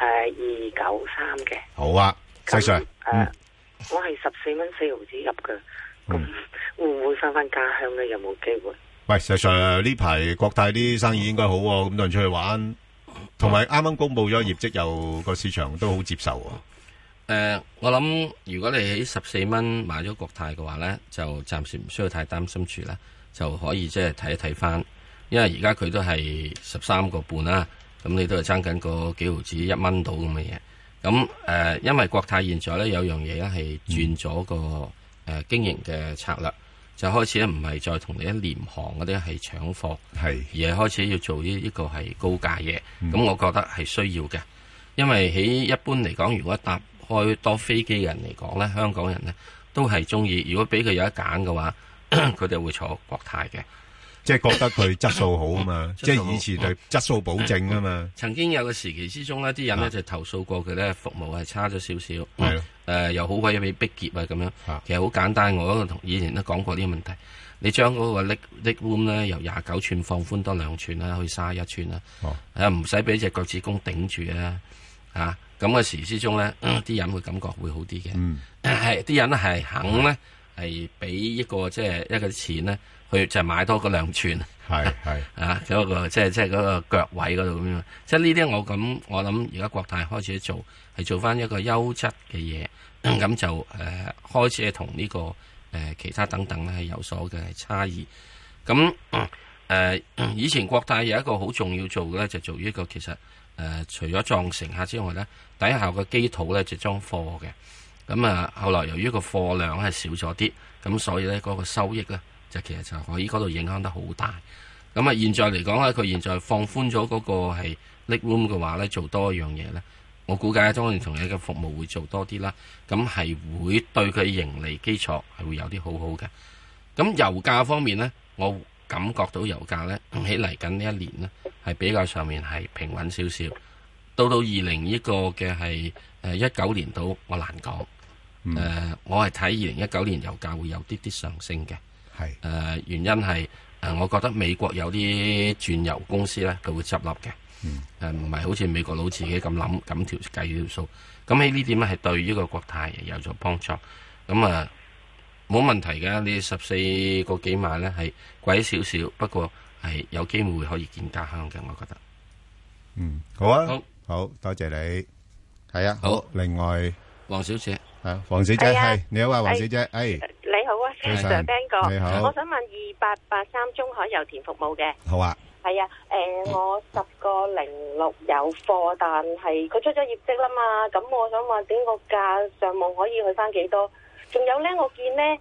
[SPEAKER 9] 293嘅。
[SPEAKER 3] 好啊，石 Sir。
[SPEAKER 9] 我係14蚊4毫子入嘅，咁會唔會翻家鄉咧？有冇機會？
[SPEAKER 3] 喂，石 Sir，呢排國泰啲生意應該好喎，咁多人出去玩，同埋啱啱公布咗業績，又個市場都好接受喎。
[SPEAKER 4] 我諗如果你喺14蚊買咗國泰嘅話咧，就暫時唔需要太擔心住啦，就可以即係睇一睇翻，因為而家佢都係13個半啦，咁你都係爭緊個幾毫子1蚊到咁嘅嘢。咁因為國泰現在咧有樣嘢咧係轉咗個經營嘅策略，就開始咧唔係再同你一廉航嗰啲係搶貨，而係開始要做呢個係高價嘢。咁我覺得係需要嘅，因為喺一般嚟講，如果搭開多飛機嘅人嚟講咧，香港人咧都係中意。如果俾佢有得揀嘅話，佢哋會坐國泰嘅，
[SPEAKER 3] 即係覺得佢質素好啊嘛，即係以前對質素保證啊嘛。
[SPEAKER 4] 曾經有個時期之中呢，啲人咧就投訴過佢咧服務係差咗少少，係咯，又好鬼俾逼劫啊咁樣。其實好簡單，我都同以前都講過呢個問題。你將嗰個 leg room 咧由29寸放寬多2寸啦，去31寸啦，唔使俾隻腳趾公頂住啊！咁嘅時之中咧，啲人會感覺會好啲嘅。係啲人係肯咧，係俾一個即係一個錢咧，去就買多嗰2寸。係嗰個即係嗰個腳位嗰度咁樣。即係呢啲我諗而家國泰開始做係做翻一個優質嘅嘢，咁就開始係同呢個其他等等咧係有所嘅差異。咁以前國泰有一個好重要做嘅咧，就做呢個其實。除咗撞乘客之外咧，底下個機肚咧就裝貨嘅。咁後來由於個貨量係少咗啲，咁所以咧嗰個收益咧就其實就可以嗰度影響得好大。咁現在嚟講咧，佢現在放寬咗嗰個係 leg room 嘅話咧，做多一樣嘢咧，我估計當然同你嘅服務會做多啲啦。咁係會對佢盈利基礎係會有啲好好嘅。咁油價方面咧，我感覺到油價咧喺嚟緊呢一年咧係比較上面係平穩少少，到20呢個嘅係19年度我難講。我係睇2019年油價會有啲上升嘅。原因係我覺得美國有啲鑽油公司咧佢會執笠嘅。唔係好似美國佬自己咁諗咁計條數。咁喺呢點咧係對呢個國泰有咗幫助。咁冇問題嘅，你14個幾買咧係貴少少，不過係有機會可以見家鄉嘅，我覺得。
[SPEAKER 3] 好啊，好多謝你。係啊，好。另外，
[SPEAKER 4] 黃小姐，
[SPEAKER 3] 黃小姐係你好啊，黃小姐，
[SPEAKER 10] 你好啊，Sir Ben 哥，你好。我想問2883中海油田服務嘅。
[SPEAKER 3] 好啊。
[SPEAKER 10] 係啊，我10.06有貨，但係佢出咗業績啦嘛，咁我想問點個價上網可以去翻幾多？仲有咧，我見咧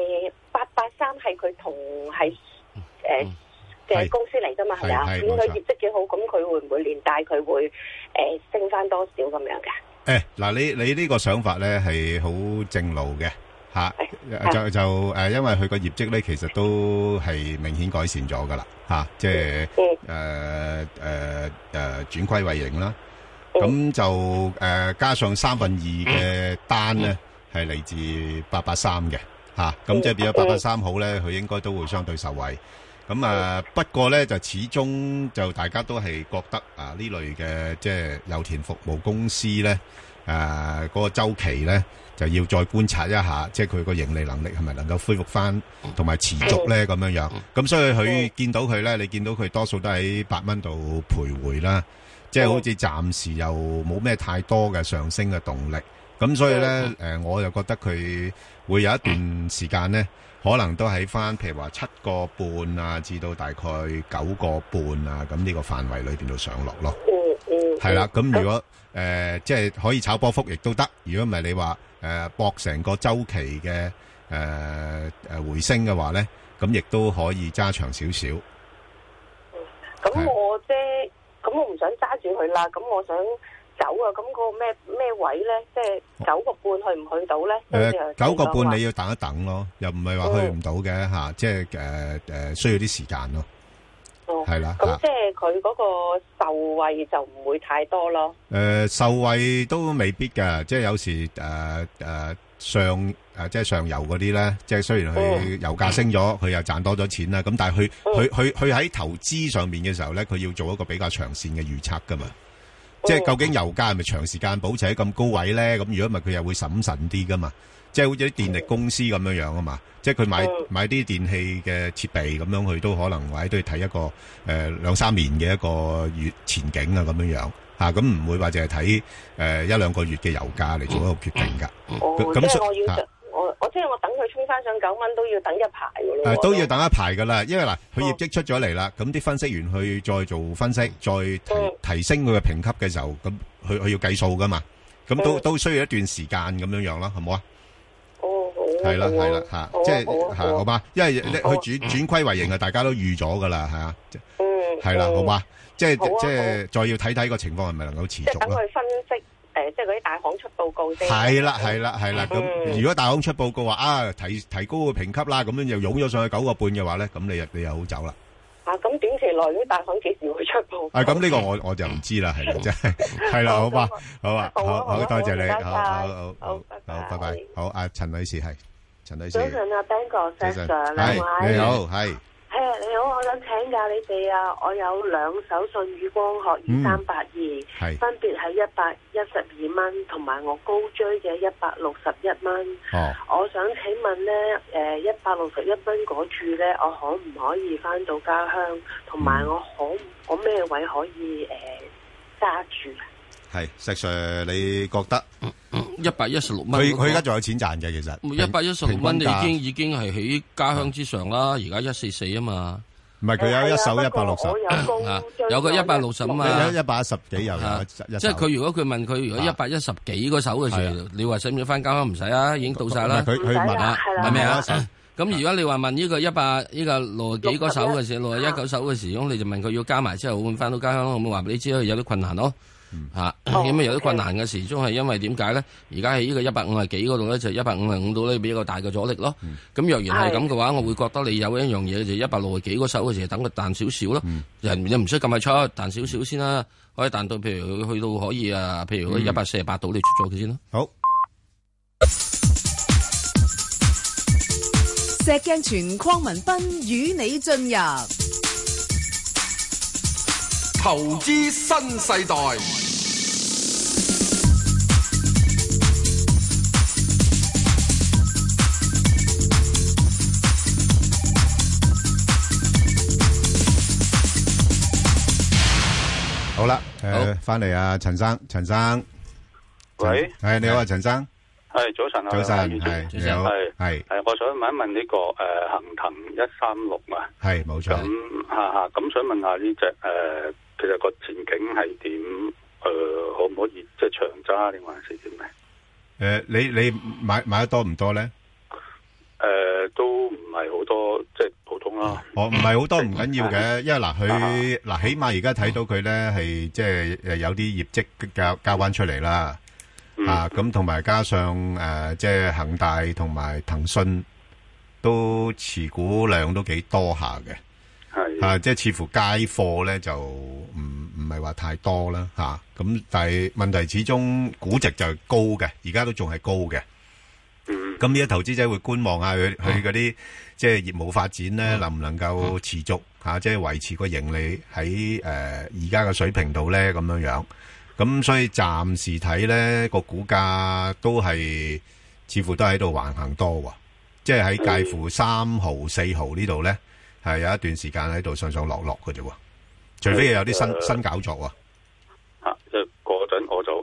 [SPEAKER 10] 883係佢同係嘅公司嚟噶嘛，係咪啊？見佢業績幾好，咁佢會唔會連帶佢會升翻多少咁樣嘅？
[SPEAKER 3] 嗱，你呢個想法咧係好正路嘅， 嚇，就因為佢個業績咧，其實都係明顯改善咗噶啦嚇，即係轉虧為盈啦。咁就加上2/3嘅單咧係嚟自883嘅嚇，咁即係變咗883好咧，佢應該都會相對受惠。咁不過咧就始終就大家都係覺得呢類嘅即係油田服務公司咧嗰個週期咧就要再觀察一下，即係佢個盈利能力係咪能夠恢復翻同埋持續咧咁樣樣。咁所以佢見到佢咧，你見到佢多數都喺8蚊度徘徊啦，即係好似暫時又冇咩太多嘅上升嘅動力。咁所以咧我就覺得佢會有一段時間咧。可能都喺翻，譬如話7個半啊，至到大概9個半啊，咁呢個範圍裏邊度上落咯。係啦，咁如果即係可以炒波幅，亦都得。如果唔係你話搏成個週期嘅回升嘅話咧，咁亦都可以揸長少少。
[SPEAKER 10] 咁我唔想揸住佢啦，咁我想走啊！咁個咩位咧？即係9個半去唔去到咧？9個半你要等一等咯，又唔係話去唔到嘅嚇，即係需要啲時間咯。係啦。咁即係佢嗰個受惠就唔會太多咯。受惠都未必㗎，即係有時即係上游嗰啲咧，即係雖然佢油價升咗，佢又賺多咗錢啦。咁但係佢喺投資上面嘅時候咧，佢要做一個比較長線嘅預測㗎嘛。即係究竟油價係咪長時間保持喺咁高位咧？咁如果唔係，佢又會審慎啲噶嘛。即係好似啲電力公司咁樣樣啊嘛。即係佢買啲電器嘅設備咁樣，佢都可能或者都要睇一個2-3年嘅一個月前景啊咁樣樣嚇。咁唔會話淨係睇1-2個月嘅油價嚟做一個決定㗎。咁即係我等佢衝翻上9蚊都要等一排㗎咯。都要等一排㗎啦，因為嗱，佢業績出咗嚟啦，咁啲分析員去再做分析，再提升佢嘅評級嘅時候，咁佢要計數㗎嘛，咁都需要一段時間咁樣樣咯，係冇啊？係啦嚇，即係好嘛？因為佢轉虧為盈啊，大家都預咗㗎啦，係啊，係啦，好嘛？即係再要睇睇個情況係咪能夠持續咯。等佢分析。即係嗰啲大行出報告先。係啦。咁如果大行出報告話提高個評級啦，咁樣又湧咗上去9個半嘅話咧，咁你又好走啦。咁短期內啲大行幾時會出報告？咁呢個我就唔知啦，係啦，真係係啦，好嘛，好啊，好多謝你，好，拜拜，好，阿陳女士係陳女士。早晨啊 ，Ben 哥 Sir，你好，係。你好，我想請教你哋啊，我有2手舜宇光學2382，分別係112蚊，同埋我高追嘅161蚊。我想請問呢161蚊嗰注呢，我可唔可以翻到家鄉？同埋我咩位可以揸住？係石 Sir， 你覺得116蚊？佢而家仲有錢賺嘅，其實116蚊已經係喺家鄉之上啦。而家144啊嘛，唔係佢有一手160，有個160啊嘛，有110幾又有。即係佢如果佢問佢如果110幾嗰手嘅時候，你話使唔使翻家鄉？唔使啊，已經到晒啦。佢問啊，係咪啊？咁如果你話問呢個60幾嗰手嘅時候，61手嘅時候，你就問佢要加埋之後會翻到家鄉，我咪話俾你知有啲困難咯。咁有啲困難嘅時鐘係因為點解咧？而家喺呢個150幾嗰度咧，就155度咧比較大嘅阻力咯。咁若然係咁嘅話，我會覺得你有一樣嘢就160幾嗰手嘅時候，等佢彈少少咯。人又唔需咁快出，彈少少先啦，可以彈到譬如去到可以譬如148度你出咗佢先咯。好。
[SPEAKER 1] 石鏡泉鄺民彬與你進入
[SPEAKER 2] 投資新世代。
[SPEAKER 3] 好啦，翻嚟啊，陳生，喂，係你好啊，陳生。
[SPEAKER 11] 係早晨啊，
[SPEAKER 3] 早晨係你好，係
[SPEAKER 11] 我想問一問呢個恒騰136啊，係冇錯。咁想問下呢隻其實個前景係點？可唔可以即係長揸定還是點咧？你買得多唔多咧？都唔係好多，即係普通啦。
[SPEAKER 3] 唔係好多唔緊要嘅，因為佢起碼而家睇到佢咧係即係有啲業績交翻出嚟啦。 咁同埋加上即係恒大同埋騰訊都持股量都幾多下嘅，係即係似乎街貨咧就唔係話太多啦咁但係問題始終估值就係高嘅，而家都仲係高嘅。咁呢啲投資者會觀望下佢嗰啲即係業務發展咧，能唔能夠持續即係維持個盈利喺而家嘅水平度咧咁樣。咁所以暫時睇咧個股價都係似乎都喺度橫行多喎，即係喺介乎3毫4毫呢度咧係有一段時間喺度上上落落嘅啫，除非有啲新搞作喎。
[SPEAKER 11] 即係嗰陣我就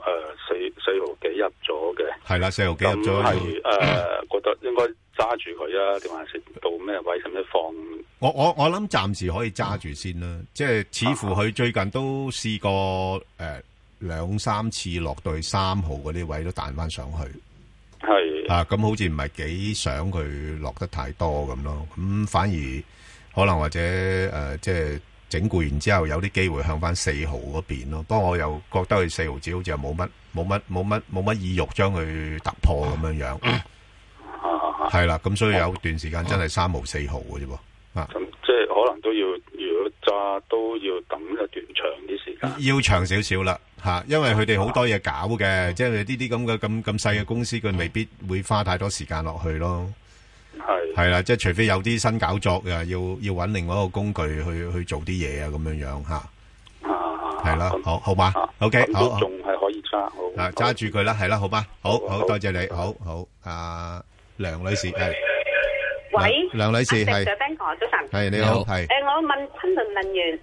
[SPEAKER 11] 4毫幾入咗嘅，係啦，4毫幾入咗，係覺得應該揸住佢啊，定還是到咩位使唔使放？
[SPEAKER 3] 我諗暫時可以揸住先啦，即係似乎佢最近都試過2-3次落到去3毫嗰啲位都彈翻上去，係咁好似唔係幾想佢落得太多咁咯，咁反而可能或者即係整固完之後有啲機會向翻4毫嗰邊咯，不過我又覺得佢4毫紙好似又冇乜意欲將佢突破咁樣，係啦，咁所以有段時間真係3毫4毫嘅啫喎，
[SPEAKER 11] 咁即係可能都要，如果揸都要等一段長啲時間，
[SPEAKER 3] 要長少少啦。因為佢哋好多嘢搞嘅，即係呢啲咁細嘅公司，佢未必會花太多時間落去咯。係啦，即係除非有啲新搞作嘅，要揾另外一個工具去做啲嘢啊，咁樣係啦，好嘛 ？OK， 好，
[SPEAKER 11] 仲係可以揸，好
[SPEAKER 3] 揸住佢啦，係啦，好嘛？好多謝你，好，梁女士係，
[SPEAKER 12] 喂，
[SPEAKER 3] 梁女士係，
[SPEAKER 12] 早晨，
[SPEAKER 3] 係你好，係，
[SPEAKER 12] 我問昆侖能源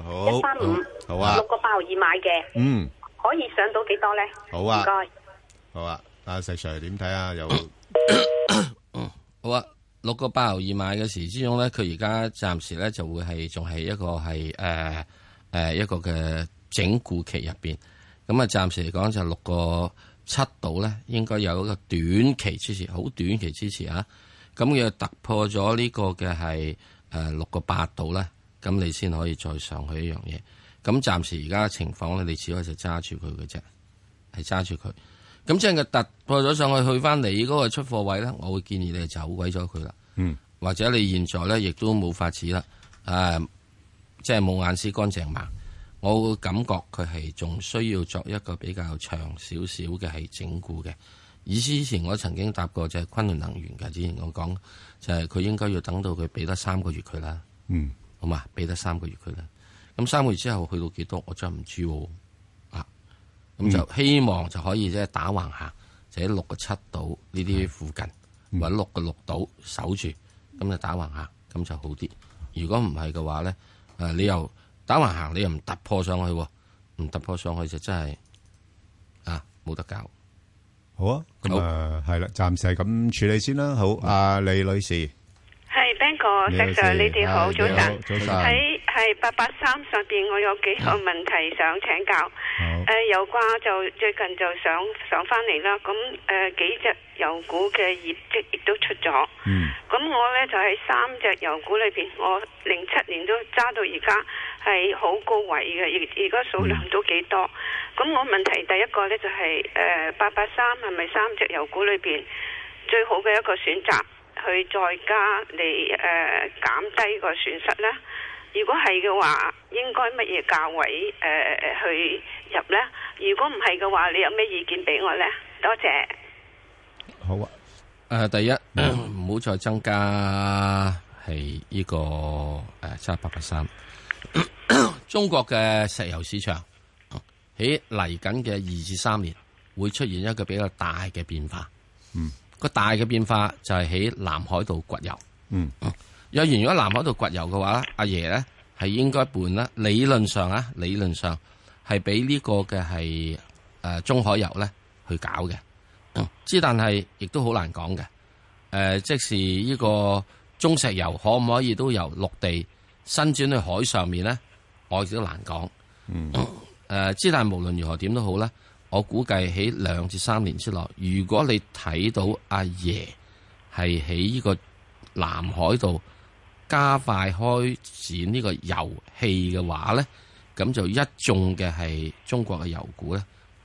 [SPEAKER 12] 135，
[SPEAKER 3] 好啊
[SPEAKER 12] ，6個8毫2買嘅，可以上到幾多咧？
[SPEAKER 3] 好啊，
[SPEAKER 12] 唔該，
[SPEAKER 3] 好啊，阿石 Sir 點睇啊？有
[SPEAKER 4] 好啊，6個8毫2買嘅時之中咧，佢而家暫時咧就會係仲係一個係一個嘅整固期入邊，咁啊暫時嚟講就6個7度咧，應該有一個短期支持，好短期支持啊！咁佢突破咗呢個嘅係6個8度咧，咁你先可以再上去一樣嘢。咁暫時而家嘅情況咧，你只可以就揸住佢嘅啫，係揸住佢。咁即係佢突破咗上去，去翻你嗰個出貨位咧，我會建議你走鬼咗佢啦。或者你現在咧亦都冇法子啦，即係冇眼屎乾淨盲。我會感覺佢係仲需要作一個比較長少少嘅係整固嘅。之前我曾經答過就係昆侖能源嘅，之前我講就係佢應該要等到佢俾得3個月佢啦。好嘛，俾得3個月佢啦。咁3個月之後去到幾多，我真係唔知喎。咁就希望就可以即係打橫行，就喺6個7度呢啲附近，或者6個6度守住，咁就打橫行，咁就好啲。如果唔係嘅話咧，你又打橫行，你又唔突破上去，唔突破上去就真係冇得搞。
[SPEAKER 3] 好啊，咁係啦，暫時係咁處理先啦。好，阿李女士，
[SPEAKER 13] 係 Ben 哥，石 Sir，你哋好，早晨。
[SPEAKER 3] 早晨。
[SPEAKER 13] 喺883上邊，我有幾個問題想請教。油價就最近就上翻嚟啦。咁幾隻油股嘅業績亦都出咗。咁我咧就喺3隻油股裏邊，我07年都揸到而家係好高位嘅，而家數量都幾多。咁我問題第一個咧就係883係咪3隻油股裏邊最好嘅一個選擇，去再加嚟減低個損失咧？如果係嘅話，應該乜嘢價位去入呢？如果唔係嘅話，你有咩意見俾我呢？多謝。
[SPEAKER 3] 好啊。
[SPEAKER 4] 第一唔好再增加係呢個揸883。中國嘅石油市場喺嚟緊嘅2至3年會出現一個比較大嘅變化。個大嘅變化就係喺南海度掘油。若然如果南海度掘油嘅話，阿爺咧係應該換啦。理論上係俾呢個嘅係中海油咧去搞嘅。但係亦都好難講嘅。即是呢個中石油可唔可以都由陸地伸轉去海上面咧？我亦都難講。但係無論如何點都好咧，我估計喺2至3年之內，如果你睇到阿爺係喺呢個南海度加快開展呢個油氣嘅話咧，咁就一眾嘅係中國嘅油股咧，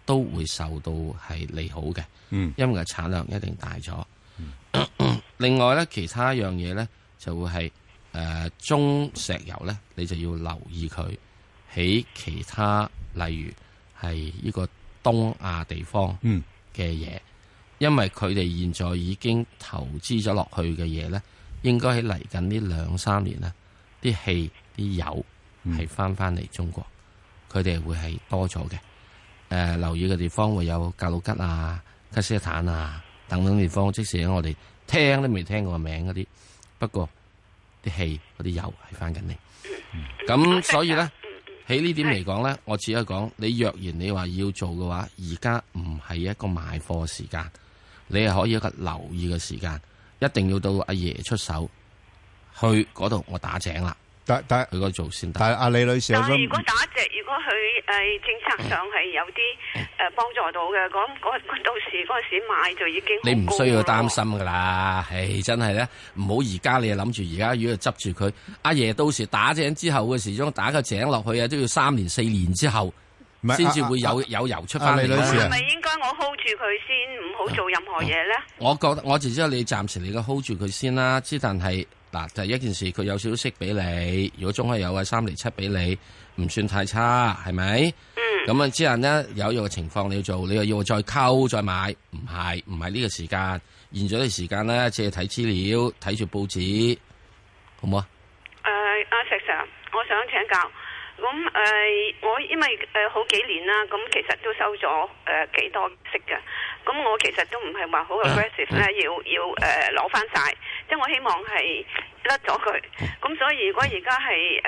[SPEAKER 4] 都會受到係利好嘅，因為產量一定大咗。另外咧，其他一樣嘢咧就會係中石油咧，你就要留意佢喺其他，例如係呢個東亞地方嘅嘢，因為佢哋現在已經投資咗落去嘅嘢咧，應該喺嚟緊呢2-3年咧，啲氣啲油係翻嚟中國，佢哋會係多咗嘅。留意嘅地方會有格魯吉啊、吉斯坦啊等等地方，即使我哋聽都未聽過個名嗰啲，不過啲氣嗰啲油係翻緊嚟。咁所以咧，喺呢點嚟講咧，我只係講你若然你話要做嘅話，而家唔係一個買貨時間，你係可以一個留意嘅時間，一定要到阿爺出手去嗰度，我打井啦。但佢嗰度做先得。但係阿李女士，
[SPEAKER 13] 但係如果打隻，如果佢政策上係有啲幫助到嘅，咁到時嗰時買就已經
[SPEAKER 4] 你唔需要擔心噶啦。唉，真係咧，唔好而家你又諗住而家如果執住佢，阿爺到時打井之後嘅時鐘打個井落去啊，都要3年4年之後先至會有油出翻嚟。
[SPEAKER 13] 係咪應該我 hold 住佢先，唔好做任何嘢咧？
[SPEAKER 4] 我覺得我只知道你暫時你個 hold 住佢先啦，之但係。嗱，就係一件事，佢有少少息俾你。如果中海有嘅3厘7俾你，唔算太差，係咪？咁啊，之後呢，有一個情況你要做，你又要再溝再買，唔係呢個時間。現在嘅時間咧，只係睇資料，睇住報紙，好唔好啊？
[SPEAKER 13] 阿石 Sir，我想請教。咁我因為好幾年啦，咁其實都收咗幾多息嘅。咁我其實都唔係話好 aggressive 咧，要攞翻晒。即係我希望係甩咗佢。咁所以如果而家係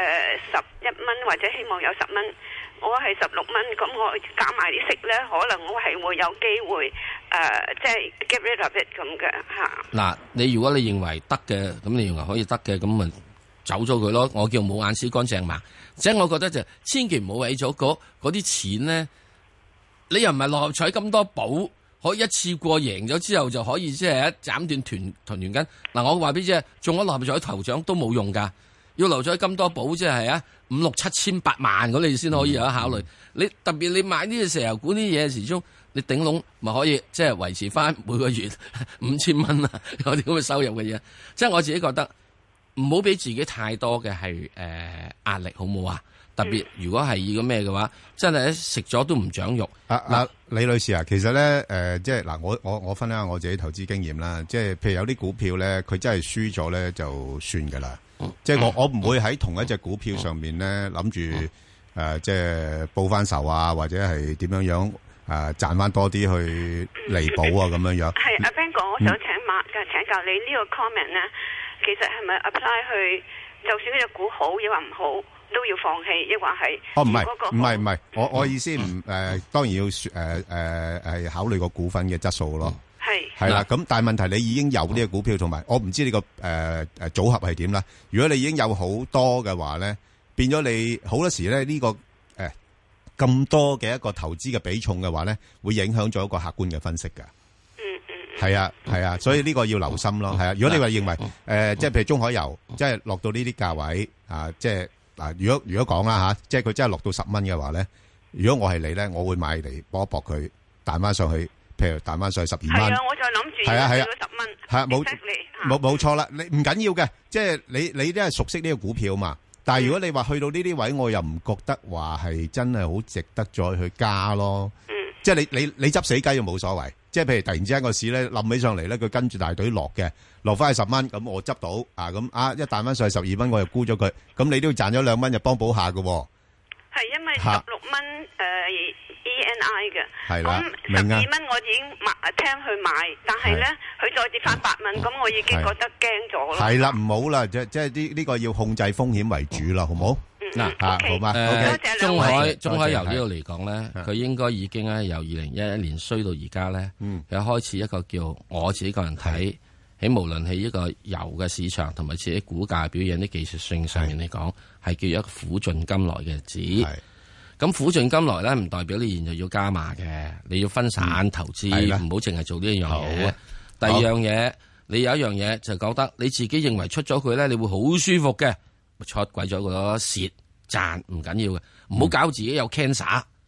[SPEAKER 13] 11蚊或者希望有10蚊，我係16蚊，咁我加埋啲息咧，可能我係會有機會即係 get rid of it 咁嘅嚇。嗱，
[SPEAKER 4] 你如果你認為得嘅，咁你認為可以得嘅，咁咪走咗佢咯。我叫冇眼屎乾淨盲。即係我覺得就千祈唔好為咗嗰啲錢咧，你又唔係六合彩咁多寶，可以一次過贏咗之後就可以即係一斬斷團圓根。嗱，我話俾你知，中咗六合彩頭獎都冇用噶，要留咗咁多寶，即係啊5、6、7千8萬嗰你先可以有得考慮。你特別你買呢個石油股啲嘢時鐘，你頂籠咪可以即係維持翻每個月5000蚊啊，有啲咁嘅收入嘅嘢。即係我自己覺得。唔好俾自己太多嘅係壓力，好唔好啊？特別如果係要個咩嘅話，真係食咗都唔長肉。
[SPEAKER 3] 李女士啊，其實咧即係嗱，我分享下我自己投資經驗啦。即係譬如有啲股票咧，佢真係輸咗咧就算㗎啦。即係我唔會喺同一隻股票上面咧諗住即係報翻仇啊，或者係點樣賺翻多啲去彌補啊咁樣樣。
[SPEAKER 13] 係阿 Ben 哥，我想請教你呢個 comment 咧。其實係咪 apply 去，就算呢隻股好，亦或唔好，都要放棄，亦或係？
[SPEAKER 3] 唔係，我意思當然要係考慮個股份嘅質素咯。係啦，咁但係問題你已經有呢個股票，同埋我唔知你個組合係點啦。如果你已經有好多嘅話咧，變咗你好多時咧呢個咁多嘅一個投資嘅比重嘅話咧，會影響咗一個客觀嘅分析㗎。係啊，所以呢個要留心咯。係啊，如果你話認為即係譬如中海油，即係落到呢啲價位啊，即係嗱，如果講啦嚇，即係佢真係落到10蚊嘅話咧，如果我係你咧，我會買嚟搏一搏佢彈翻上去，譬如彈翻上去12蚊。係啊，
[SPEAKER 13] 我就諗住要到10蚊。係啊，
[SPEAKER 3] 冇錯啦，你唔緊要嘅，即係你都係熟悉呢個股票嘛。但係如果你話去到呢啲位，我又唔覺得話係真係好值得再去加咯。即係你執死雞又冇所謂。即係譬如突然之間個市咧冧起上嚟咧，佢跟住大隊落嘅，落翻去10蚊，咁我執到咁一彈翻上去12蚊，我又沽咗佢，咁你都要賺咗2蚊，就幫補下㗎。
[SPEAKER 13] 係因為16蚊ENI 嘅，
[SPEAKER 3] 係啦，
[SPEAKER 13] 咁12蚊我已經聽佢買，但係咧佢再跌翻8蚊，咁我已經覺得驚咗咯。係啦，
[SPEAKER 3] 唔好啦，即係呢個要控制風險為主啦，好唔好？嗱好嘛，
[SPEAKER 4] 中海油呢度嚟講咧，佢應該已經咧由2011年衰到而家咧，有開始一個叫我自己個人睇，喺無論係一個油嘅市場同埋自己股價表現啲技術性上面嚟講，係叫一個苦盡甘來嘅日子。咁苦盡甘來咧，唔代表你現在要加碼嘅，你要分散投資，唔好淨係做呢一樣嘢。第二樣嘢，你有一樣嘢就覺得你自己認為出咗佢咧，你會好舒服嘅。出鬼咗個蝕賺唔緊要嘅，唔好搞自己有 cancer。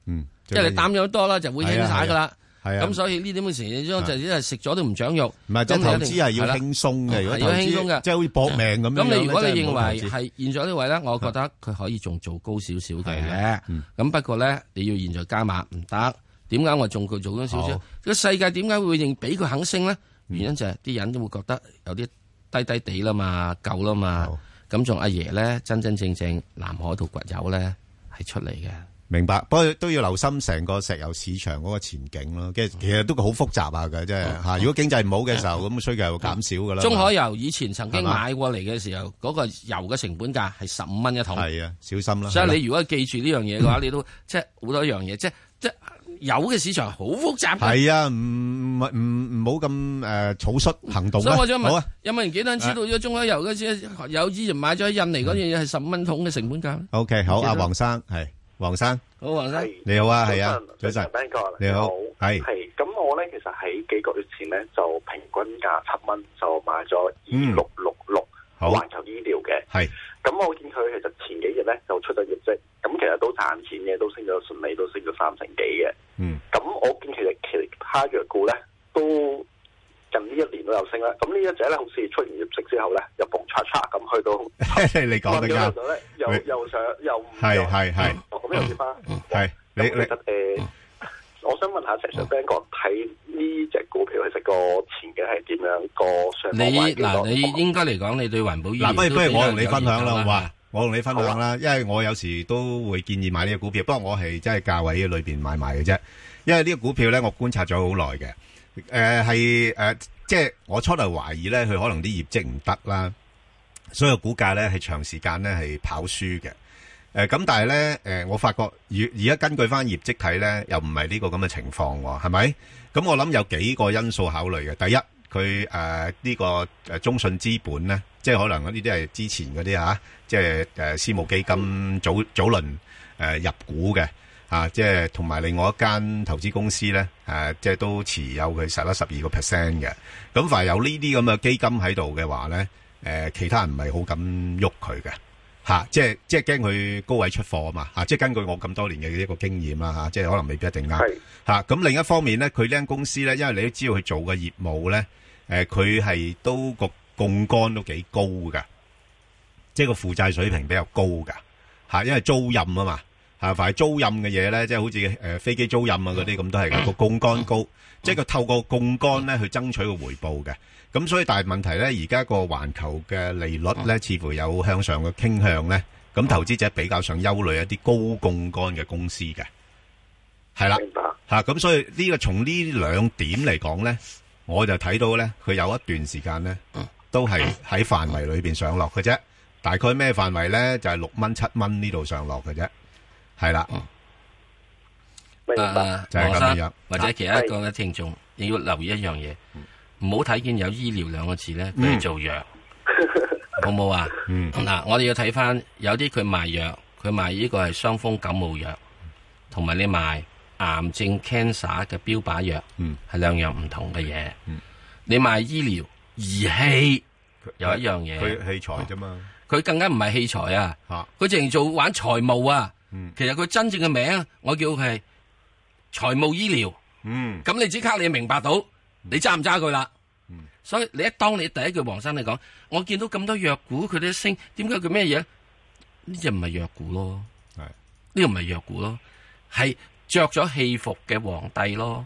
[SPEAKER 4] 即係你擔咗多啦，就會輕晒噶啦。
[SPEAKER 3] 係啊，
[SPEAKER 4] 咁所以呢啲咁嘅情況就一係食咗都唔長肉。
[SPEAKER 3] 唔係，即係投資係要輕鬆嘅，如果投資
[SPEAKER 4] 輕鬆嘅，
[SPEAKER 3] 即係好似搏命咁樣。
[SPEAKER 4] 咁你如果你認為係現在呢位咧，我覺得佢可以仲做高少少嘅。咁不過咧，你要現在加碼唔得。點解我仲佢做咗少少？個世界點解會認俾佢肯升咧？原因就係啲人都會覺得有啲低低地啦嘛，夠啦嘛。咁仲阿爺咧，真真正正南海度掘油咧係出嚟嘅。
[SPEAKER 3] 明白，不過都要留心成個石油市場嗰個前景咯。其實都好複雜下嘅，即係嚇。如果經濟唔好嘅時候，咁需求又減少㗎啦。
[SPEAKER 4] 中海油以前曾經買過嚟嘅時候，嗰個油嘅成本價係15蚊一桶。
[SPEAKER 3] 係啊，小心啦。
[SPEAKER 4] 所以你如果記住呢樣嘢嘅話，你都即係好多樣嘢，即係油嘅市場好複雜。係
[SPEAKER 3] 啊，唔好咁草率行動。
[SPEAKER 4] 所以我想問，有冇人幾多人知道咗中海油嗰時有之前買咗喺印尼嗰樣嘢係15蚊桶嘅成本價
[SPEAKER 3] ？OK， 好，阿黃生係。黃生，
[SPEAKER 4] 好，黃生，
[SPEAKER 3] 你好啊，係啊，早晨，你好，係，
[SPEAKER 14] 咁我咧其實喺幾個月前咧就平均價7蚊就買咗2666環球醫療嘅，係，咁我見佢其實前幾日咧就出咗業績，咁其實都賺錢嘅，都升咗順利，都升咗3成幾嘅，咁我見其他藥股咧都近呢1年都有升啦，咁呢一隻咧好似出完業績之後咧又蹦嚓嚓咁去到，
[SPEAKER 3] 你講得啱，
[SPEAKER 14] 又上又唔
[SPEAKER 3] 係，
[SPEAKER 14] 咁又跌翻，
[SPEAKER 3] 係你
[SPEAKER 14] 其實我想問下石 Sir Ben 哥睇呢隻股票其實個前景係點樣？個上
[SPEAKER 4] 望你應該嚟講，你對環保醫療
[SPEAKER 3] 不如我同你分享啦，好嘛？我同你分享啦，因為我有時都會建議買呢個股票，不過我係真係價位裏邊買賣嘅啫，因為呢個股票咧我觀察咗好耐嘅。即係我初頭懷疑咧，佢可能啲業績唔得啦，所以股價咧係長時間咧係跑輸嘅。咁但係咧，我發覺而家根據翻業績睇咧，又唔係呢個咁嘅情況喎，係咪？咁我諗有幾個因素考慮嘅。第一，佢呢個中信資本咧，即係可能呢啲係之前嗰啲即係私募基金早輪入股嘅。即係同埋另外一間投資公司咧，即係都持有佢12%嘅。咁凡係有呢啲咁嘅基金喺度嘅話咧，其他人唔係好敢喐佢嘅，即係驚佢高位出貨啊嘛，即係根據我咁多年嘅一個經驗啦，即係可能未必一定啱。咁另一方面咧，佢呢間公司咧，因為你都知道佢做嘅業務咧，佢係都個槓桿都幾高㗎，即係個負債水平比較高㗎，因為租賃啊嘛。凡係租賃嘅嘢咧，即係好似飛機租賃啊嗰啲咁，都係個槓桿高，即係佢透過槓桿咧去爭取個回報嘅。咁所以大問題咧，而家個環球嘅利率咧，似乎有向上嘅傾向咧。咁投資者比較上憂慮一啲高槓桿嘅公司嘅，係啦。明白。咁所以呢個從呢兩點嚟講咧，我就睇到咧，佢有一段時間咧，都係喺範圍裏邊上落嘅啫。大概咩範圍咧？就係6蚊、7蚊呢度上落嘅啫。係啦，
[SPEAKER 14] 明白，
[SPEAKER 3] 就係咁樣。
[SPEAKER 4] 或者其他一個嘅聽眾，你要留意一樣嘢，唔好睇見有醫療2個字咧，佢係做藥，好冇啊？嗱，我哋要睇翻有啲佢賣藥，佢賣呢個係傷風感冒藥，同埋你賣癌症 cancer 嘅標靶藥，係兩樣唔同嘅嘢。你賣醫療儀器有一樣嘢，
[SPEAKER 3] 佢器材啫嘛，
[SPEAKER 4] 佢更加唔係器材啊，佢淨係做玩財務啊。其實佢真正嘅名，我叫佢係財務醫療。咁你即刻你明白到，你揸唔揸佢啦？所以當你第一句黃生你講，我見到咁多藥股佢都升，點解佢咩嘢？呢隻唔係藥股咯，呢個唔係藥股咯，係着咗戲服嘅皇帝咯。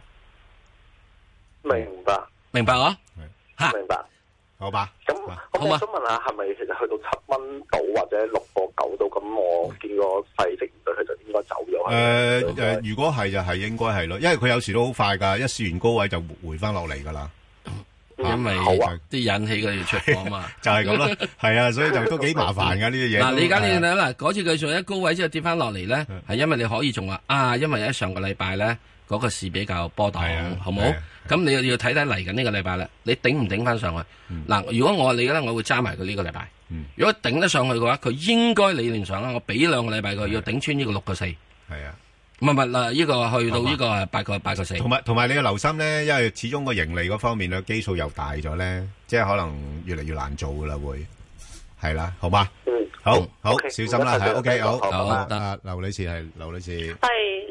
[SPEAKER 4] 明白啊？
[SPEAKER 14] 吓，明白。
[SPEAKER 3] 好吧。
[SPEAKER 14] 咁我想問下，係咪其實去到7蚊到或者6個9到？咁我見個勢值唔對，佢就應該走咗。
[SPEAKER 3] 如果係就係應該係咯，因為佢有時都好快噶，一試完高位就回翻落嚟噶啦。
[SPEAKER 4] 因為啲引起佢要出貨嘛，
[SPEAKER 3] 就係咁咯。係啊，所以就都幾麻煩噶呢啲嘢。
[SPEAKER 4] 嗱，你而家你睇啦，嗰次佢做一高位之後跌翻落嚟咧，係因為你可以仲話因為喺上個禮拜咧嗰個市比較波動，好冇？咁你又要睇睇嚟緊呢個禮拜啦，你頂唔頂翻上去？嗱，如果我你咧，我會揸埋佢呢個禮拜。如果頂得上去嘅話，佢應該理論上啦，我俾2個禮拜佢要頂穿呢個6個4。
[SPEAKER 3] 係啊，
[SPEAKER 4] 唔係嗱，呢個去到呢個8個4。
[SPEAKER 3] 同埋你要留心咧，因為始終個盈利嗰方面咧基數又大咗咧，即係可能越嚟越難做噶啦，會係啦，好嘛？好，小心啦，係 OK， 好，得。劉女士係劉女士。
[SPEAKER 12] 係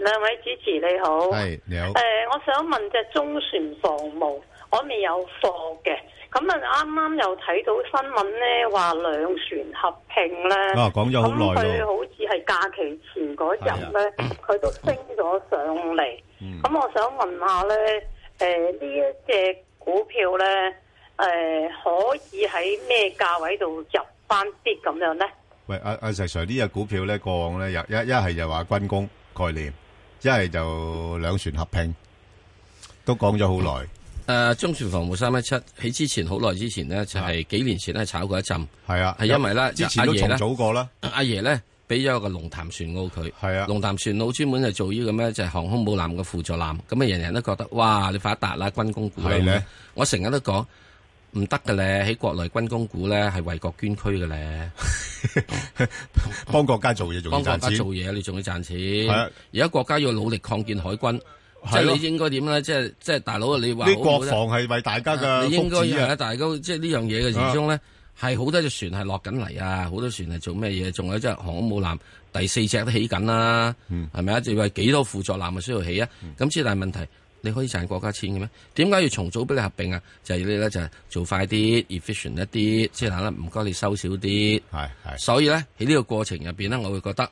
[SPEAKER 15] 兩位主持你好，
[SPEAKER 3] 係你好。
[SPEAKER 15] 我想問隻中船防務，我未有貨嘅，咁啱啱又睇到新聞咧，話兩船合併咧，
[SPEAKER 3] 講咗好耐咯。
[SPEAKER 15] 咁佢好似係假期前嗰日咧，佢都升咗上嚟。咁我想問下咧，呢一隻股票咧，可以喺咩價位度入翻啲咁樣咧？
[SPEAKER 3] 喂，阿石 Sir， 呢隻股票咧，過往咧一係就話軍工概念，一係就兩船合併，都講咗好耐。
[SPEAKER 4] 中船防務317喺之前好耐之前呢，就係幾年前咧炒過一陣。
[SPEAKER 3] 係啊，
[SPEAKER 4] 係因為咧，
[SPEAKER 3] 之前都重組過啦。
[SPEAKER 4] 阿爺咧俾咗個龍潭船澳佢。
[SPEAKER 3] 係啊，
[SPEAKER 4] 龍潭船澳專門係做呢個咩，就係航空母艦嘅輔助艦。咁啊，人人都覺得哇，你發達啦，軍工股係咧。我成日都講。唔得嘅咧，喺國內軍工股咧係為國捐軀嘅咧，
[SPEAKER 3] 幫國家做嘢仲要賺錢。
[SPEAKER 4] 幫國家做嘢，你仲要賺錢。而家國家要努力擴建海軍，即係你應該點咧？即係大佬，你話啲
[SPEAKER 3] 國防係為大家嘅福祉啊！
[SPEAKER 4] 你應該係大家即係呢樣嘢嘅始終咧，係好多隻船係落緊嚟啊！好多船係做咩嘢？仲有即係航空母艦第4隻都起緊啦，係咪啊？就話幾多輔助艦啊需要起啊？咁之但係問題。你可以賺國家錢嘅咩？點解要重組俾你合併啊？就係你咧就係做快啲 efficient 一啲，即係嗱啦，唔該你收少啲。係。所以咧喺呢個過程入邊咧，我會覺得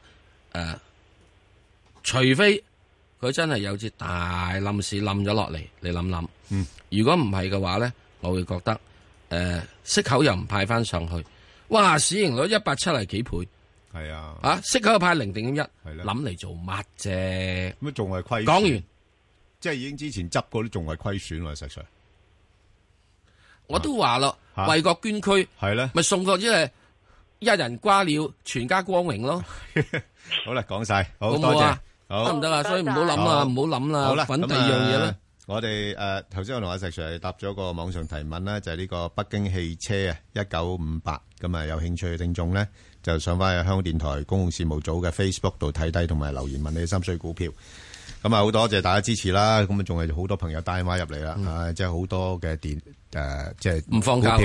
[SPEAKER 4] 除非佢真係有隻大冧市冧咗落嚟，你諗諗。如果唔係嘅話咧，我會覺得息口又唔派翻上去，哇！市盈率170幾倍。
[SPEAKER 3] 係啊。
[SPEAKER 4] 息口又派0.1，諗嚟做乜啫？
[SPEAKER 3] 咁仲係虧。講完。即係已經之前執過都仲係虧損喎，實際。
[SPEAKER 4] 我都話咯，為國捐軀
[SPEAKER 3] 係咧，
[SPEAKER 4] 咪送個即係一人瓜了，全家光榮咯。
[SPEAKER 3] 好啦，講晒，好
[SPEAKER 4] 多謝，
[SPEAKER 3] 好
[SPEAKER 4] 得唔得啊？所以唔好諗啦，唔好諗啦。
[SPEAKER 3] 好啦，
[SPEAKER 4] 揾第二樣嘢啦。
[SPEAKER 3] 我哋頭先我同阿石 Sir 答咗個網上提問啦，就係呢個北京汽車啊，1958咁啊，有興趣嘅聽眾咧，就上翻去香港電台公共事務組嘅 Facebook 度睇低，同埋留言問你心水股票。咁啊，好多謝大家支持啦！咁啊，仲係好多朋友打電話入嚟啦，即係好多嘅即係
[SPEAKER 4] 唔放假，
[SPEAKER 3] 係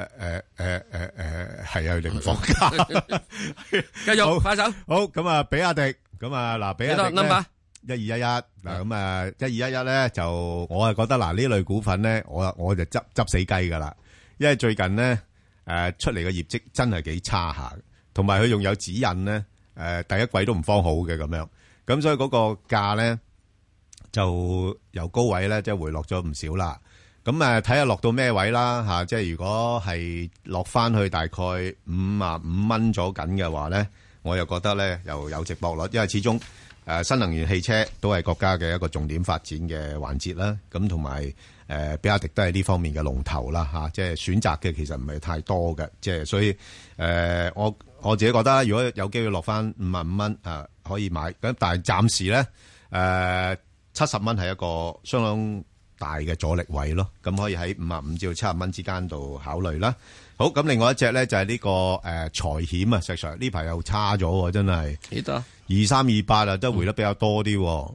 [SPEAKER 3] 啊，佢哋唔放假。
[SPEAKER 4] 繼續快手，
[SPEAKER 3] 好咁啊，比亞迪咁啊，嗱，比亞迪
[SPEAKER 4] number
[SPEAKER 3] 1211嗱，咁啊，1211咧就我係覺得嗱呢類股份咧，我就執死雞噶啦，因為最近咧出嚟嘅業績真係幾差下，同埋佢仲有指引咧第一季都唔方好嘅咁樣。咁所以嗰個價咧就由高位咧即係回落咗唔少啦。咁睇下落到咩位啦吓，即係如果係落翻去大概55蚊咗緊嘅話咧，我又覺得咧又有值博率，因為始終新能源汽車都係國家嘅一個重點發展嘅環節啦。咁同埋比亞迪都係呢方面嘅龍頭啦吓，即係選擇嘅其實唔係太多嘅，即係所以我自己覺得如果有機會落翻55蚊可以買，咁但係暫時咧70蚊係一個相當大嘅阻力位咯，咁可以喺55至到70蚊之間度考慮啦。好，咁另外一隻咧就係呢個財險啊，石 Sir 呢排又差咗，真係
[SPEAKER 4] 幾多
[SPEAKER 3] 2328啊，都回得比較多啲。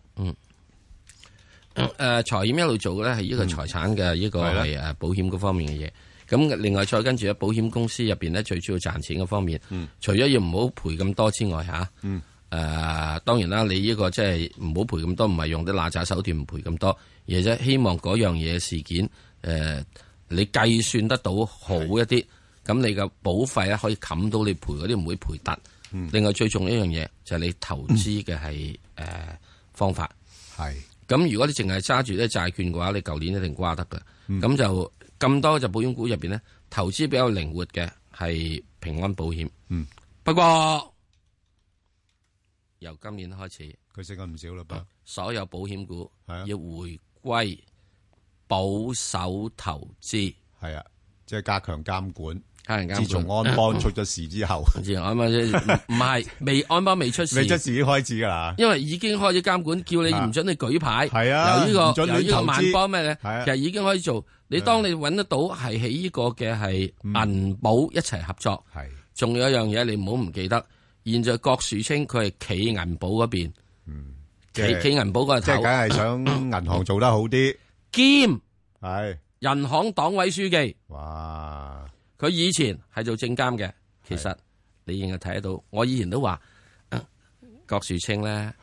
[SPEAKER 4] 財險一路做嘅咧係呢個財產嘅呢個係保險嗰方面嘅嘢。咁另外再跟住咧，保險公司入邊咧最主要賺錢嘅方面，除咗要唔好賠咁多之外嚇，當然啦，你呢個即係唔好賠咁多，唔係用啲揦鮓手段唔賠咁多，而係希望嗰樣嘢事件你計算得到好一啲，咁你嘅保費咧可以冚到你賠嗰啲唔會賠突。另外最重要一樣嘢就係你投資嘅係方法。係咁，如果你淨係揸住啲債券嘅話，你舊年一定瓜得㗎。咁就咁多隻保險股入邊咧，投資比較靈活嘅係平安保險。不過由今年開始，
[SPEAKER 3] 佢升咗唔少啦噃。
[SPEAKER 4] 所有保險股要回歸保守投資。
[SPEAKER 3] 係啊，即係加強監管。
[SPEAKER 4] 自
[SPEAKER 3] 從安邦出咗事之後，
[SPEAKER 4] 安邦唔係未安邦未出事，
[SPEAKER 3] 未出事已經開始噶啦。因
[SPEAKER 4] 為已經開始監管，叫你唔准你舉牌。
[SPEAKER 3] 係啊，
[SPEAKER 4] 由呢個萬邦咩咧？其實已經可以做。你當你揾得到係喺呢個嘅係銀保一齊合作。係，仲有一樣嘢你唔好唔記得。現在郭樹清佢係企銀保嗰邊，企銀保嗰個頭，
[SPEAKER 3] 即係梗係想銀行做得好啲，
[SPEAKER 4] 兼
[SPEAKER 3] 係
[SPEAKER 4] 人行黨委書記。
[SPEAKER 3] 哇！
[SPEAKER 4] 佢以前係做證監嘅，其實你應該睇得到。我以前都話郭樹清咧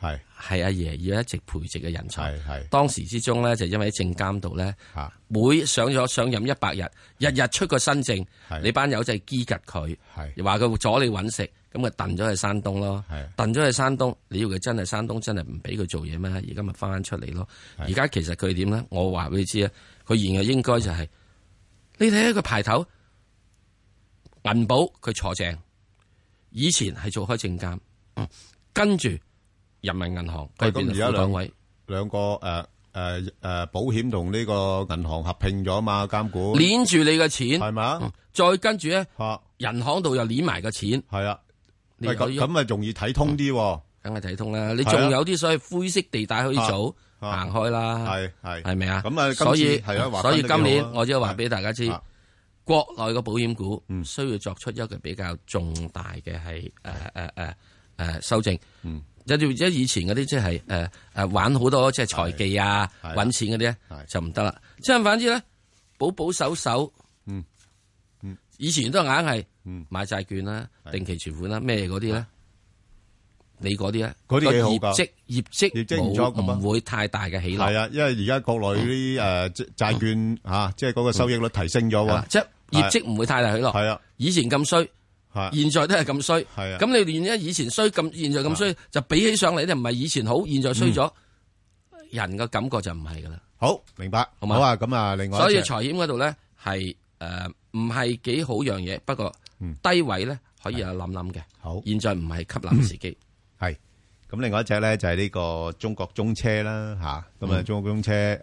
[SPEAKER 4] 係阿爺要一直培植嘅人才。係當時之中咧，就因為喺證監度咧，每上任100日，日日出個新政，你班友就係激吉佢，又話佢阻你揾食，咁咪燉咗去山東咯。燉咗去山東，你要佢真係山東真係唔俾佢做嘢咩？而家咪翻出嚟咯。而家其實佢點咧？我話俾你知啊，佢現在應該就係你睇下佢排頭銀保佢坐正，以前係做開證監，跟住人民銀行佢變咗兩個保險同呢個銀行合併咗嘛，監管鏈住你嘅錢係嘛，再跟住咧，銀行度又鏈埋個錢，係啊，咁咪容易睇通啲，梗係睇通啦。你仲有啲所謂灰色地帶可以做，行開啦，係咪啊？咁啊，所以今年我只係話俾大家知，國內嘅保險股需要作出一個比較重大嘅係修正。即以前嗰啲即係玩好多即係財技啊，揾錢嗰啲咧就唔得啦。即係反之咧，保守，以前都硬係買債券啦、定期存款啦、咩嗰啲咧，你嗰啲咧，嗰啲業績唔會太大嘅起落。係啊，因為而家國內啲債券即係嗰個收益率提升咗喎，即係業績唔會太大起落。係啊，以前咁衰。現在都係咁衰，咁你連一以前衰咁，現在咁衰，就比起上嚟咧，唔係以前好，現在衰咗，人嘅感覺就唔係噶啦。好，明白，好嘛？好啊，咁啊，另外，所以財險嗰度咧係唔係幾好樣嘢，不過低位咧可以有諗諗嘅。好，現在唔係吸納時機。係，咁另外一隻咧就係呢個中國中車啦，吓，咁啊，中國中車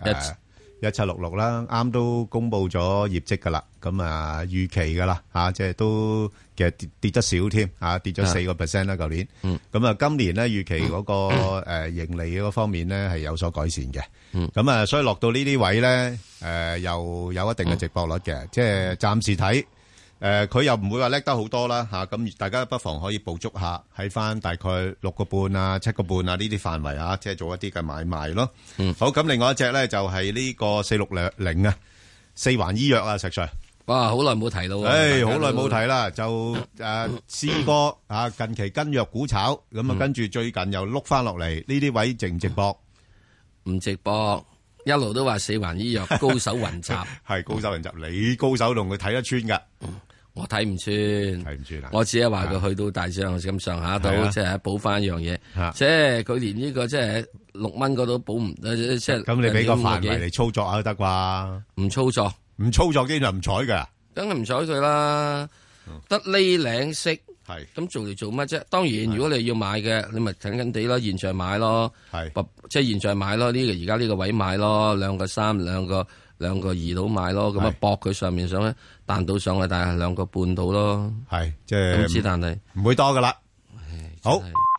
[SPEAKER 4] 1766啦，啱都公布咗業績噶啦，咁啊預期噶啦，即係都其實跌得少添，跌咗4%啦，舊年。咁啊，今年咧預期嗰個盈利嗰方面咧係有所改善嘅。咁啊，所以落到呢啲位咧，又有一定嘅值博率嘅，即係暫時睇。佢又唔會話叻得好多啦，咁大家不妨可以捕捉下喺翻大概6個半啊、7個半啊呢啲範圍啊，即係做一啲嘅買賣咯。好，咁另外一隻咧就係呢個4660啊，四環醫藥啊，石 Sir。哇，好耐冇提到喎。好耐冇提啦，就試過近期跟藥股炒，咁啊跟住最近又碌翻落嚟，呢啲位值唔值博？唔值博。一路都話四環醫藥高手雲集，係高手雲集，你高手同佢睇得穿噶。我睇唔穿，我只係話佢去到大上咁上下度，即係補翻一樣嘢。即係佢連呢個即係6蚊嗰度補唔，即係咁你俾個範圍嚟操作下都得啩？唔操作，基本上唔睬噶，梗係唔睬佢啦。得呢領息，係咁做嚟做乜啫？當然，如果你要買嘅，你咪緊緊地咯，現在買咯，即係現在買咯。呢個而家呢個位買咯，2個3，2個2到買咯，咁啊搏佢上面上咧彈到上去，但係2個半到咯，係即係，但係唔會多噶啦。好。